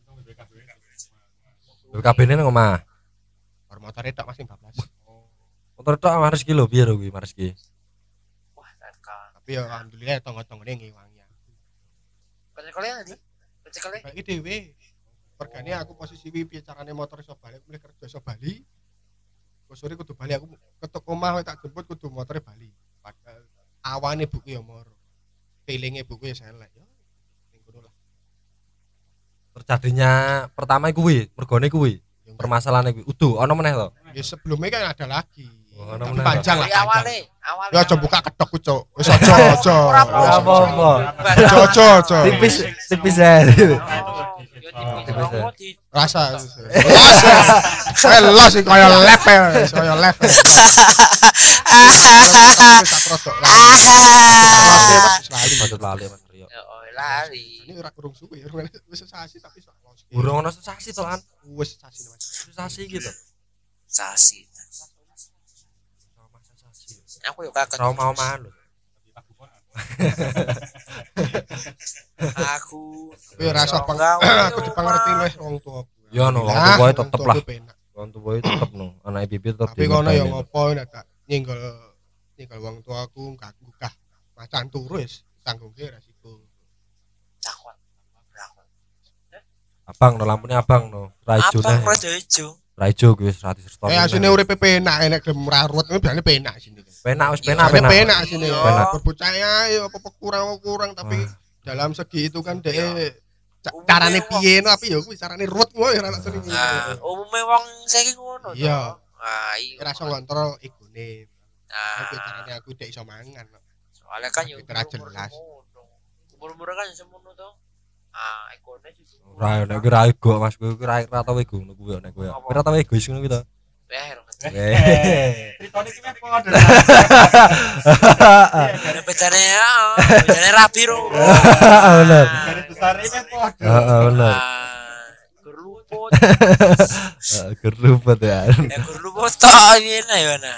B K B-ne nang omah. Bar motore tok masih bablas. Motor tok Mas ki lho, piye lho kuwi Mas ki? Wah, tekan. Tapi ya alhamdulillah tonggo-tonggone ngewangi. Kalian nanti. Kalian. Bagi dhewe. Pergane aku posisi piye piye carane motor iso bali, aku mulai kerja iso bali. Kok sore kudu bali aku ketuk omah tak jemput kudu motore bali. Padahal awane buku ya moro. Feelinge buku ya selek. Ya ning kono lah. Terjadinya pertama kuwi, mergone kuwi. Yang Permasalahan kuwi. Udu ono meneh to. ya sebelumnya kan ada lagi. Oh, ada Tapi meneh. panjang lah. Dari panjang. awalnya, awalnya. Ya aja buka kedokku, Cuk. Wis aja aja. Ora Wis aja. apa-apa. Aja aja aja. Tipis tipis ae. Rasa. Rasa. Elah sih kaya lep ya, kaya lep. Tak rodok lah. Lali. Patut lali Mas Rio. Lari. Ini ora kurung suwe, wis sesasi tapi sak los. Burung ono sensasi to kan. Wis sesasi Mas. Sensasi gitu. Sasi. Trauma sensasi. Aku yuk kakak. Trauma-omaan lho. Aku. Tapi rasa pang aku dipangerti wis wong tuaku. Ya no, wong Nah, tuwa wong tetep tuaku lah. penak. Wong tuwa tetep no. Anake bibit tetep. Tapi kono ya dingerteni. ngopo nek tak nyenggol nyenggol wong tuaku gak gugah macan turu wis tanggungke resiko. Takut. Berakon. Abang no lampune abang no. Raijo Apa neh. rada ijo? Raijo kuwi wis ratus restoran. Eh asine uripe penak enek gelem rarut kuwi biasane penak sini. Penak wis Iya, penak Penak penak. penak sini. Penak. Berbocah ya apa kurang kurang tapi Wah. dalam segi itu kan dek Iya. ca- carane piye no tapi ya kuwi carane ruwet ngono ya ora sering. Nah, umume wong saiki ngono to. Iya. Ah, iya. Ora iso ngontrol egone. Nah, Tapi carane aku dek iso mangan. no. soalnya kan yo Tapi ora jelas. Umur-umur kan semono to. Ah, ekone sih. Ora nek kira ego Mas kuwi kira ora tau ego ngono kuwi nek kuwi. Kira tau egois ngono kuwi to. Ber. Eh. Ceritane iki meh padha. Bedane ya, bedane rapi ro. Bener. Dari besar ini meh padha. Heeh bener. Ah, gerluput. Heeh gerubet ya. Ya gerluput tok ngene ya nah.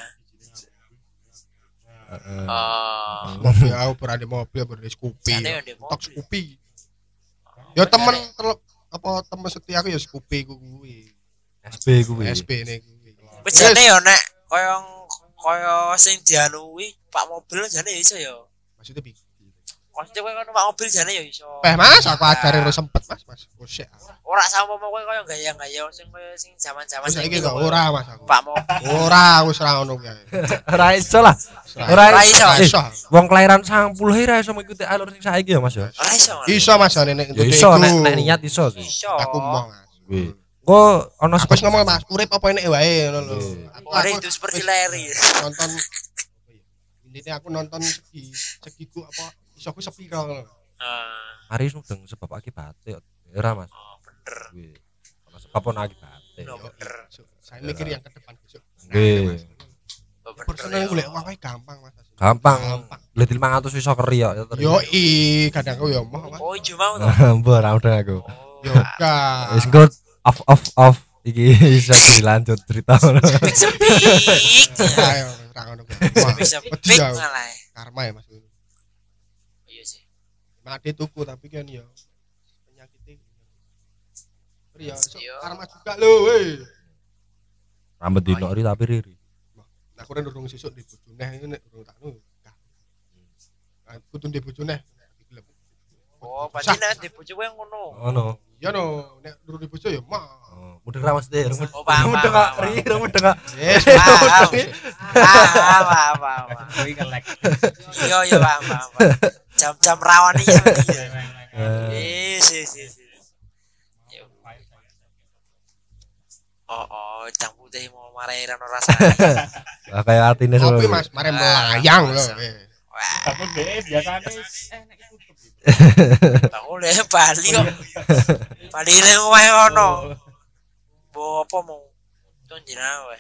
Heeh. Ah, Mobil aku berada mobil berada Scoopy. jane yo ndek Tok mobil. Scoopy. Ya temen telep apa temen setia aku ya Scoopy ku kuwi. S B kuwi. S P ne kuwi. Wis jane yo nek koyo koyo sing dianuwi Pak mobil jane yo iso yo. Maksudnya piye? Maksudnya kowe kan Pak mobil jane yo iso. Peh Mas, aku ajare ora sempet Mas, Mas. Gosek. Ora sama kowe koyo gaya-gaya sing koyo sing zaman-zaman Wis saiki kok ora Mas aku. Pak mobil. Ora wis ra ngono kuwi. Ora iso lah. Ora Ora iso. iso. Wong kelahiran sembilan puluh ora iso mengikuti alur sing saiki ya Mas ya. Ora iso. Iso Mas nek nek Ya iso nek nek niat iso sih. Iso. Aku mau Mas. Kuwi. Kok ana Aku wis ngomong Mas, urip apa enek wae ngono lho. Aku Ora aku itu seperti leri. nonton intinya aku nonton segi segiku apa iso aku sepiro ngono. Ah, Hari mudeng sebab akibat ya ora Mas. oh, bener. Kuwi. Ana sebab ana akibat. No, bener. Saya mikir yang ke depan besok. Nggih. Oh, bener. Personal golek uang wae gampang Mas. Gampang. Gampang. Beli lima ratus iso keri ya. Yo i kadang aku yo mau Mas. Oh, ijo mau to. Mbok ora udah aku. Oh, Yo ga. Wis engko off off off iki iso dilanjut cerita ngono. sepik. Ayo ra ngono kuwi. Wah, Bisa wedi pik aku. malah. Karma ya Mas. Iya sih. Mati tuku tapi kan yo penyakit iki. Iya, so, Yo. karma juga lho, weh. Rambut dino ri tapi riri. Aku ora durung sesuk di bojone iki nek durung tak nu. Aku tuh di bojone. Oh, pasti nek di bojo kowe ngono. Ngono. Ya no, nek durung di bojo ya mah. Oh, mudeng ra Mas De. Oh, paham, Mudeng paham, kok ri, mudeng kok. Yes, Paham. Paham, paham, paham. Kuwi kelek. Iya, iya, paham, paham. paham. Jam-jam rawan iya. Eh, Iya, sih, sih, sih. Yo. Oh, oh, jam putih mau marahi rano rasanya. Lah kaya artine Kopi semua. Mas, mare melayang lho. Masa. eh. Wah, Tapi dhewe biasane enek tutup. bangun deh Bali kok. Bali ini ngomongin ono. Bawa apa mau? Tunjina weh.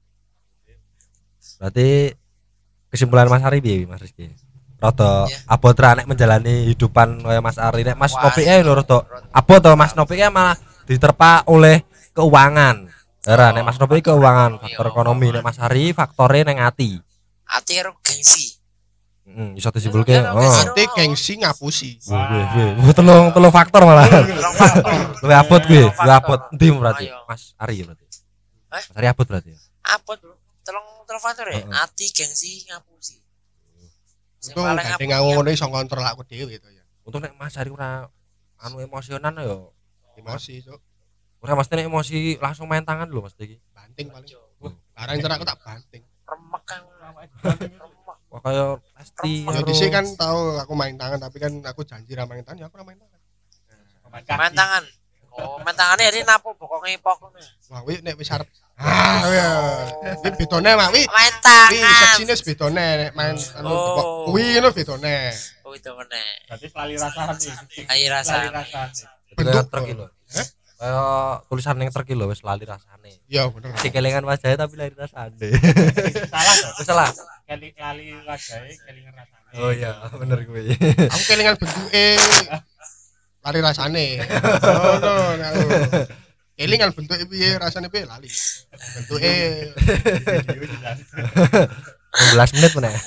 Berarti kesimpulan Mas Ari piye Mas Rizky? Rada Iya. abot ra nek menjalani hidupan kaya Mas Ari nek Mas Wah, Nopi e lho rada abot to Mas Nopi e malah diterpa oleh keuangan. Ora nek Mas Nopi keuangan, faktor Iya. ekonomi nek Mas Ari faktore ning ati. Ati karo gengsi. Heeh, iso disimpulke. Iya, Oh. gengsi. Nanti gengsi ngapusi. Wih, wih, wih, telung telung faktor malah. Rong faktor. Luwih abot kuwi, Rong luwih abot. faktor. Endi berarti? Ayo. Mas Ari berarti. Hah? Mas Ari abot berarti. Abot, Bro. Telung telung faktor ya. Heeh. Ati gengsi ngapusi. Sing Itu paling gandeng apik aku ya. ngono iso ngontrol aku dhewe to ya. Untuk nek Mas Ari ora anu emosionan yo. Emosi, Cuk. Ora mesti nek emosi langsung main tangan lho Mas iki. Banting paling. Barang cerak aku tak banting. Remek kan. Remek. Wah kaya pasti Ya dhisik kan tahu aku main tangan tapi kan aku janji ra main tangan ya aku ra main tangan. Main tangan. Oh, main tangannya jadi napo pokoknya pokok. Wah, wi nek wis arep ah ya. Wi bedone mak wi. Main Wi tangan. seksine bedone nek main anu Oh. kok kuwi ngono bedone. Oh, itu mana? Berarti lali rasane. Air rasa. Lali rasane. bentuk Bentuk. truk lho. Hah? Kaya tulisan ning truk lho wis lali rasane. Ya bener. Si kelingan wajahnya tapi lali rasane. Salah to. Wis salah. Kali lali wajake kelingan rasane. Oh iya, bener kuwi. Aku kelingan bentuke lari rasane. Oh no, nek aku. Kelingan bentuke piye rasane piye lali. Bentuke Video jelas. enam belas menit meneh.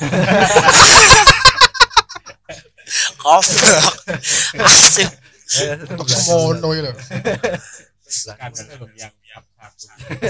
Goblok. Asu. untuk semono iki lho. Skandal belum yang yang satu.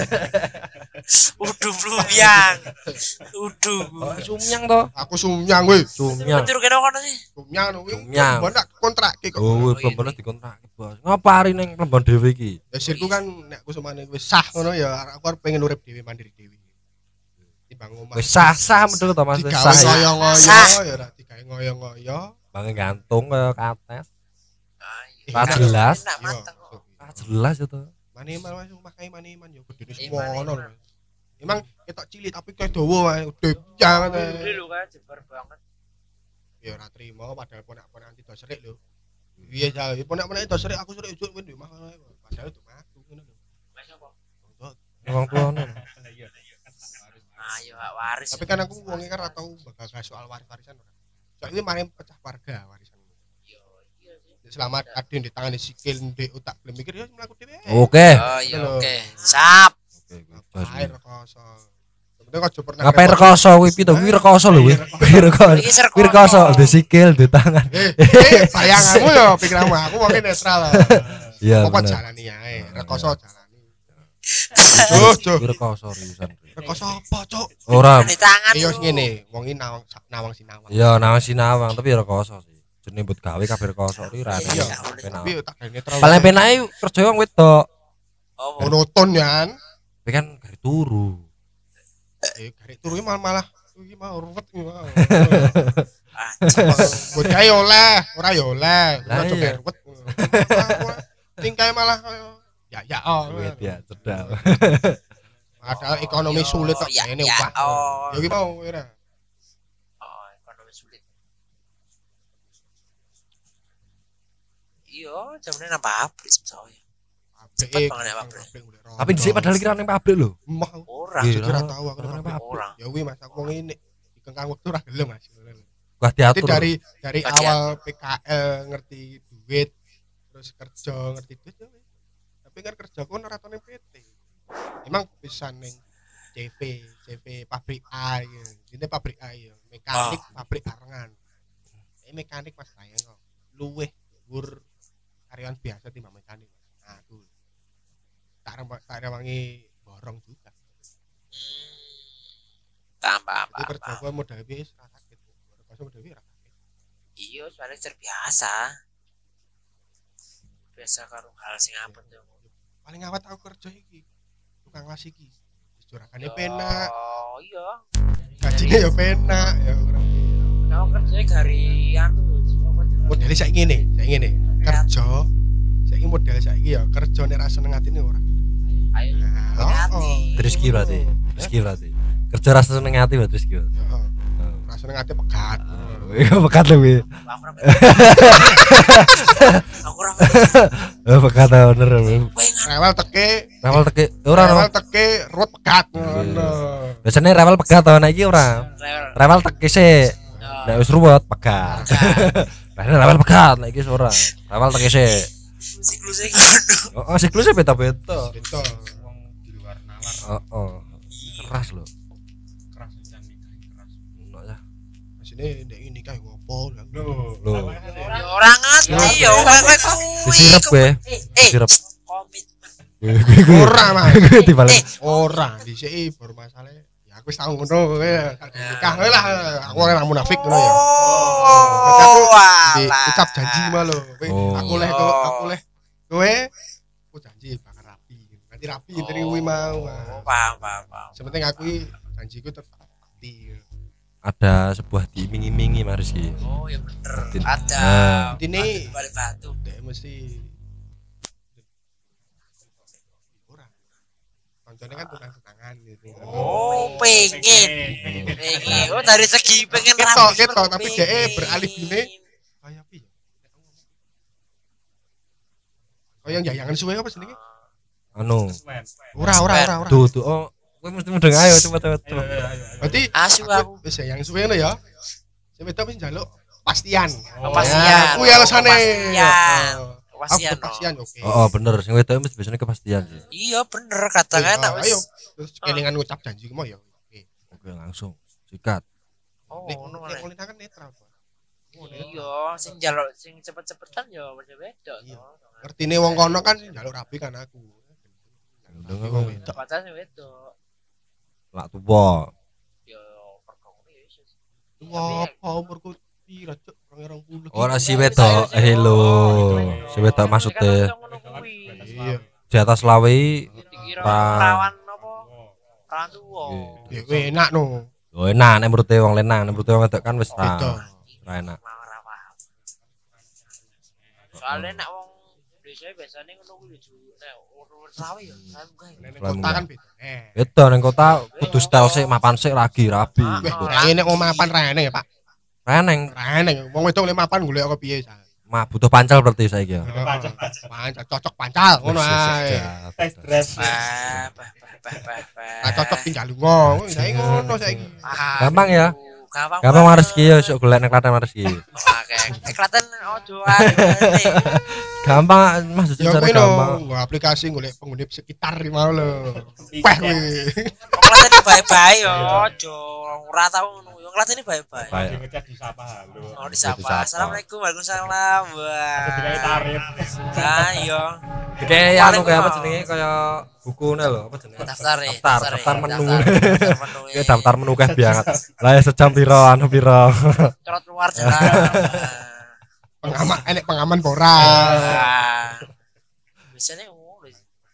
Uduh lumyang. Uduh. Oh, sumyang toh. Aku sumyang weh. Sumyang. Betul kena kono sih. Sumyang kuwi. Sumyang. Mbok nak kontrak ki kok. Oh, iya, bener dikontrak, Bos. Ngapari ning Plembon dhewe iki? Ya sirku kan nek aku semane wis sah ngono ya aku arep pengen urip dhewe mandiri dhewe. Timbang omah. Wis sah-sah medhot to Mas, wis Digawe sah. ya. ngoyo-ngoyo ya ora digawe ngoyo-ngoyo. Bange gantung kaya kates. Ayo. Ra jelas. Enak Yo. mateng kok. Ah jelas itu. Maniman wis makai maniman yo gedene Iman, semono. iman. Emang ketok cilik tapi kayak dawa wae, udah jangan. Gede lho kan jebar banget. Ya ora trimo padahal ponak-ponak tidak serik lho. Iya ja, ponak-ponak itu serik aku serik juk kowe mah padahal itu aku ngono lho. Mas apa? Wong tuane. Lah iya iya kan harus. Ayo hak waris. Tapi kan aku wonge kan ora tau bakal soal waris-warisan ora. Soalnya mari pecah warga warisan. Yo iya sih. Selamat kadin di tangan di sikil di otak belum mikir ya mlaku dhewe. Oke. Oh iya oke. Sap. Air rekoso. Sebenarnya kok pernah Ngapain rekoso kuwi pito? Kuwi rekoso lho kuwi. Kuwi rekoso. Iki ser Kuwi rekoso di sikil, di tangan. Eh, eh, bayanganmu ya pikiranmu aku mungkin netral lah. Iya. Apa bener. jalani ae, rekoso jalani. Cuk, cuk. Kuwi rekoso riusan. Rekoso apa, cuk? Ora. di tangan. Iya lu. sing ngene, wong iki nawang nawang sinawang. Ya nawang sinawang tapi ya rekoso sih. Jenenge mbut gawe kabeh rekoso kuwi ra Iya. enak. Tapi tak gawe netral. Paling penake kerja wong wedok. Oh, monoton yan. Tapi kan gari turu. Eh, garek turu iki malah malah iki mau ruwet iki mau. anjing. Buat gawe oleh, ora ya oleh. Lah Ora coba iya. ruwet. Tingkae malah kaya ya ya oh. Duit ya, cedal. Padahal ekonomi sulit kok Ya, ngene ya, wah. oh. Ya iki mau ora. Oh, ekonomi sulit. Iya, jamane nang pabrik soalnya. Cepet banget ya, pabrik. Tapi dhisik padahal iki ra ning pabrik lho. mah Ora. Iya. ora tahu aku Ora ora pabrik. Ora. ya kuwi Mas aku ngene dikengkang wektu ora gelem Mas. Gua Jadi diatur. dari dari Berarti awal P K L ngerti duit terus kerja ngerti duit ya wis. Tapi kan kerja ku ora tau ning P T. Emang bisa ning C V, C V pabrik A ya. Ini pabrik A ya, mekanik pabrik arengan. Ini mekanik Mas sayang kok. Luweh dhuwur karyawan biasa timbang mekanik. Nah, aku tak rempak tak rewangi borong juga. Tambah Itu apa? kerja gua modal wis ra sakit. Kerja modal wis ra sakit. Iya, soalnya terbiasa. Biasa karo hal sing apet yo. Paling awet aku kerja iki. Tukang las iki. Jurakane penak, Oh, iya. gajinya ya penak, ya ora. Kau kerjanya dari anu apa jenenge? Modele saiki ngene, saiki ngene. Kerja saiki model saiki ya kerja nek ra seneng atine ora. Ayo. Nah, oh, Rizki berarti. Rizki berarti. Kerja rasa seneng hati berarti Rizki. heeh. Ra seneng ati pegat. Iya pekat lho kuwi. Aku ora. Aku ora. Eh pekat bener. Rewel teke, Rewel teke ora no. rewel teke ruwet pegat ngono. Biasanya rewel pekat to nek iki ora. Rewel teke sik. Nek wis ruwet pekat. Biasanya rewel pekat nek iki ora. Rewel teke sik. Siklusnya ngono. Oh, siklusnya beda-beda. Gitu. Wong di luar nalar Heeh. Keras lho. keras dan nikah keras. Ono ya. Asine nek ini kae ngopo lho. Lho. Ya ora ngerti ya kowe kuwi. Disirep kowe. Eh, Disirep. komitmen. Ora mah. Gue dibalik. Ora, dhisiki baru masalah. Ya aku wis tau ngono kowe. Nikah kowe lah. Aku ora munafik ngono ya. Oh, Di walah. ucap janji mah lho. Kowe Oh. aku leh kowe aku leh kowe aku janji bakal rapi. Nanti rapi dari kuwi mau. Oh, paham, paham, paham. Sementing aku iki janjiku tetap pasti. Ada sebuah diiming-imingi Mas Rizky. Oh, ya bener. Tin- Ada. Nah. Intine balik batu. dek mesti ora. Kancane kan tukang tangan gitu. Oh, pengen. Pengen. Oh, dari segi pengen Ketok, rapi, ketok, tapi pengen. dhek beralih gini. Kayak piye? Kayak yayangan suwe apa jenenge? Anu. Swen. Ora, ora, ora, ora. Tuh tuh oh, kowe mesti mudeng ayo cepet cepet. Ayo ayo ayo. Berarti Asu aku. wis yang suwe ngono ya. Sing wedok wis njaluk pastian. Kepastian. Kuwi alasane. Kepastian. Aku Kepastian. kepastian oke. Oh, oh bener, sing wedok mesti biasanya kepastian sih. Iya, bener katakan Ayo, wis. ayo. Terus kelingan ngucap janji ku mau ya. Oke. Oke, langsung sikat. Oh, Nek ngono nek meneh. Molina kan netral. Pak. Iya, sing njaluk sing cepet-cepetan ya beda-beda Iya. to. Ngertine wong kono kan njaluk rabi kan aku. Ndeng Wong aku wedok. Pacar sing wedok. lak tuwa. Ya perkara ya iso. Wah, apa umurku pira cuk? dua ribu dua puluh. Ora si wedok, hello. Si wedok maksudnya Iya. di atas lawe Dikira Pra- perawan apa? Perawan tuwa. Ya weh, enak no. yo enak nek menurute wong lenang, nek menurute wong wedok kan wis Beda. ra ra enak. Ora paham. Soalnya nek wong desa biasanya ngono kuwi lucu. Nek urut sawi ya, sawi gawe. Nek kota kan beda. Eh. Beda ning kota kudu style sik, mapan sik lagi rabi. Weh, saiki nek mau mapan rene ya, Pak. Reneng, Rene. Wong wedok le mapan golek apa piye sa? mah butuh pancal berarti saiki ya. Pancal, Pancal cocok pancal ngono ae. tes dress. Bah, bah, bah, bah, bah, bah. Nah, cocok tinggal lunga. Saiki ngono saiki. Ah, Gampang ya? aduh, Gampang. Gampang banget. Mareski ya, sok golek nek Klaten Mareski. Oke, eh, Klaten ojo ae. Gampang Mas Ya secara kuwi gampang. no, aplikasi golek penghuni sekitar iki mau lho. Wah kuwi. Klaten iki bae-bae yo, ojo ora tau ngono. Yo Klaten iki bae-bae. Baik. Lagi ngechat disapa halo. Oh disapa. Disapa. Assalamualaikum, Waalaikumsalam. Wah. Sesuai tarif. Nah, iya. Kayak anu kayak apa jenenge kaya bukune lho, apa jenenge? Daftar ya. Daftar, daftar menu. Daftar menu. Kayak daftar menu kayak banget. Lah ya sejam piro anu piro. Trot luar jalan. Pengaman enek pengaman ora. Ah. Biasanya ngono.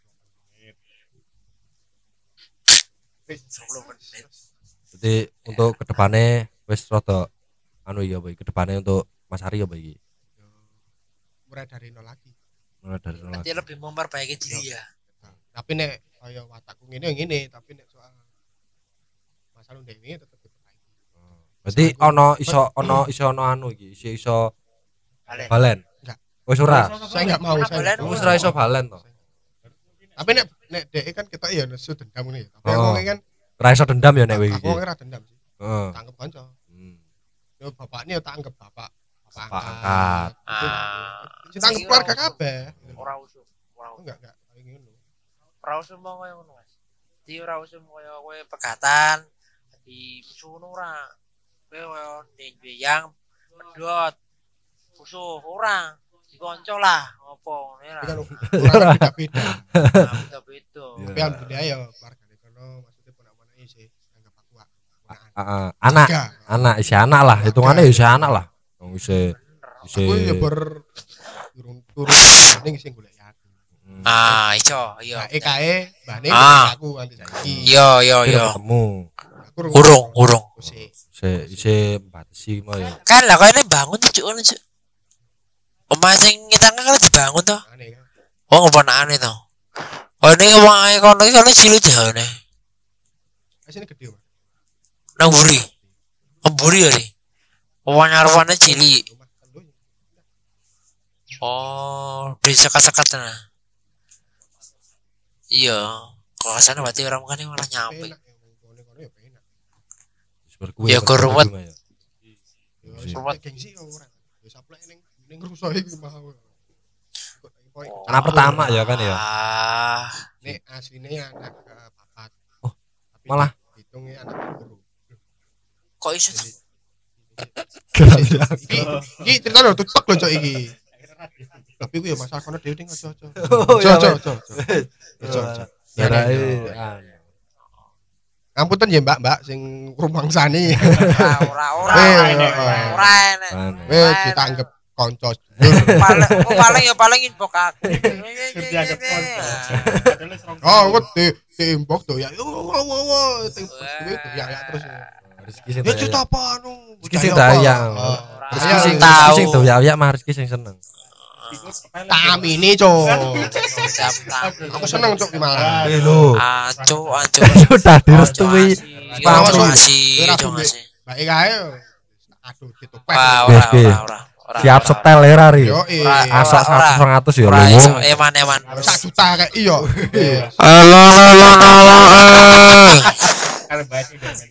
sepuluh menit. Jadi untuk kedepannya wis rada anu iki apa iki kedepannya untuk Mas Ari apa iki? Mulai dari nol lagi. Mulai dari nol Nanti lagi. lebih memperbaiki diri ya. Tapi nek kaya watakku ngene ya ngene, tapi nek soal masalah ndek ini tetep diperbaiki. Berarti ono iso ono iso ono anu iki, iso iso Balen. balen. Enggak. Wis ora. Saya enggak mau saya. Balen. nggak mau. Wis ora iso balen to. Tapi nek nek dhek kan kita ya nesu dendam ngene ya. Tapi Oh. aku kan Ora iso dendam ya nek kowe iki. aku ora dendam sih. Heeh. Tak anggap kanca. Hmm. Yo bapaknya tak anggap bapak. Bapak angkat. Ah. Kita anggap keluarga kabeh. Ora usum. Ora usum. Enggak enggak kayak ngono. Ora usum mau koyo ngono, Mas. Di ora usum koyo kowe pegatan di musuh ngono ora. Kowe koyo ndek yang pedot. Musuh ora. Dikonco lah, opo ngene Tapi kan lah. orang beda-beda. Beda-beda. Tapi alhamdulillah ya keluarga di kono maksudnya ponak-ponak sih anggap aku ponakan. Heeh. Anak, Tiga. anak isi anak lah, hitungannya isi anak lah. Wong isi isi Aku ya ber turun turun ning sing golek aku. Hmm. Ah, iso, iya. Nah, E K E mbane Ah. aku nganti saiki. Iya, iya, Kira iya. ketemu. Aku Urung, urung. Sik. Isi isi batasi mau ya. Kan lah kayaknya bangun tuh cuk, cuk. Omah sing kita kan dibangun tuh. Aneh kan. Oh ngeponakan itu. Oh ini omah ae kono iki kan cilik jane. Asine gede, Mas. Nang buri. Mburi ya nih. Omah nyarwane cilik. Rumah telu. Oh, bisa sekat-sekat nah. Iya. Kalau sana berarti orang kan malah nyampe. Enak ya wong kono ya enak. Wis berkuwi. Ya, keruwet. Ya. Ya Iya. rumah gengsi ya ora. Ya saplek ning ning rusuh iki mau. Anak pertama ya kan ya. Ah, Nek asline anak eh, papat. Oh, Tapi malah? hitungnya anak guru. kok iso tuh? Iki iki cerita lho tutuk lho cok iki. Tapi ku ya masalah kono dhewe ning aja-aja. Oh, iya, Aja Mas. aja. Aja aja. Jarai anu. Ngapunten ya Mbak-mbak sing rumangsani. Ora, ora, ora. Eh, Ora, eh. ora enek. Wis ditanggep kanca. Paling oh, paling ya paling inbox aku. Dianggap konco. Padahal serong. Oh, kok di diimbok tuh ya. Wo wo wo wo timbok duit tuh ya ya terus. Rezeki sing Ya daya. cerita apa anu? Rezeki sing daya. Oh, Rezeki Daya sing sing rezeki tahu. sing daya ya mah rezeki sing seneng. Kami ini, Cok. Jam Aku seneng Cok di Malang. Eh lho. Acu, acu. Sudah direstui. Awas, Acu Cok. ngasih, Ora acu duwe. ngasih. Mbak Ika ae. Aduh, ditopek. Wah, Yes, ora, Ki. ora, ora. ora, Siap ora, setel ya Rari. Yo, Ora, eh. Asak ora. seratus ratus ya ora lho. iso, eman, eman. Sak juta kayak iya. Iya. Halo, halo, halo. Kalau bahas ini dengan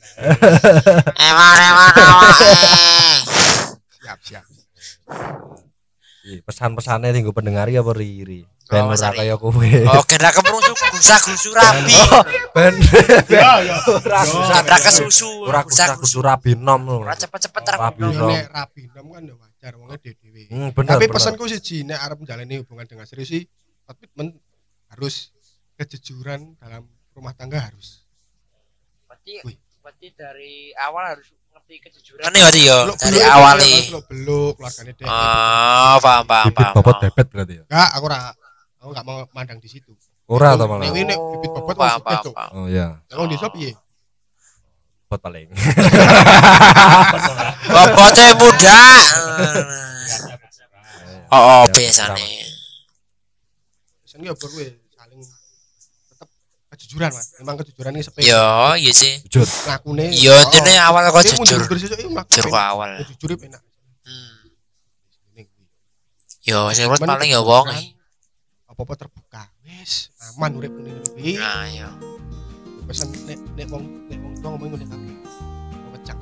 Eman, eman, awak. Siap, siap. Iya iki pesan-pesannya tinggal pendengar ya apa Riri ben Oh, ora Sari. kaya kowe Oke, nek keprung gusa-gusu rapi. ben Ya ya. ora Yo, Sabrak yo. kesusu. ora kudu rabi nom lho Ora cepet-cepet Rabi rapi. nom. nek rabi nom kan ya wajar wonge dhewe. Hmm, bener, Tapi bener. pesanku siji nek arep menjalani hubungan dengan serius sih komitmen harus kejujuran dalam rumah tangga harus. Berarti Wih. berarti dari awal harus ngerti kejujuran nih berarti yo. Beluk- Dari beluk- awal beluk- nih. beluk- beluk keluargane dhewe. Oh, paham paham bibit paham. bobot paham. bebet berarti ya Enggak, aku ora aku enggak mau mandang di situ. ora to malah Nek nek bibit bobot paham wong paham. sukses, Cuk. paham. oh iya Nek wong desa piye? bot paling Bobotnya muda. Oh, oh biasane. Sen ki opo kuwi saling tetep kejujuran, Mas. Memang kejujuran ini sepele. Yo, iya sih. jujur Ngakune. Yo, intine awal kok jujur. Jujur sesuk iki mlaku. Jujur kok awal. Jujur penak. Hmm. Ini kuwi. Yo, sing urut Cuman paling ya wong. kejujuran, apa-apa terbuka. Wis, aman urip ngene iki. Nah, yo. Pesen nek nek wong nek wong tua ngomong ngene kabeh. Ngecak.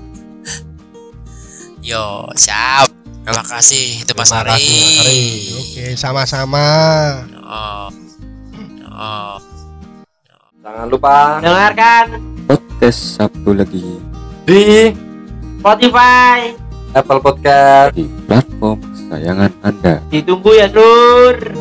Yo, siap. Terima kasih itu Mas Terima Ari. kasih, Mas Ari. Oke, sama-sama. Oh. Oh. jangan lupa Dengarkan podcast Sabtu lagi di Spotify. Apple Podcast di platform kesayangan Anda. Ditunggu ya, Lur.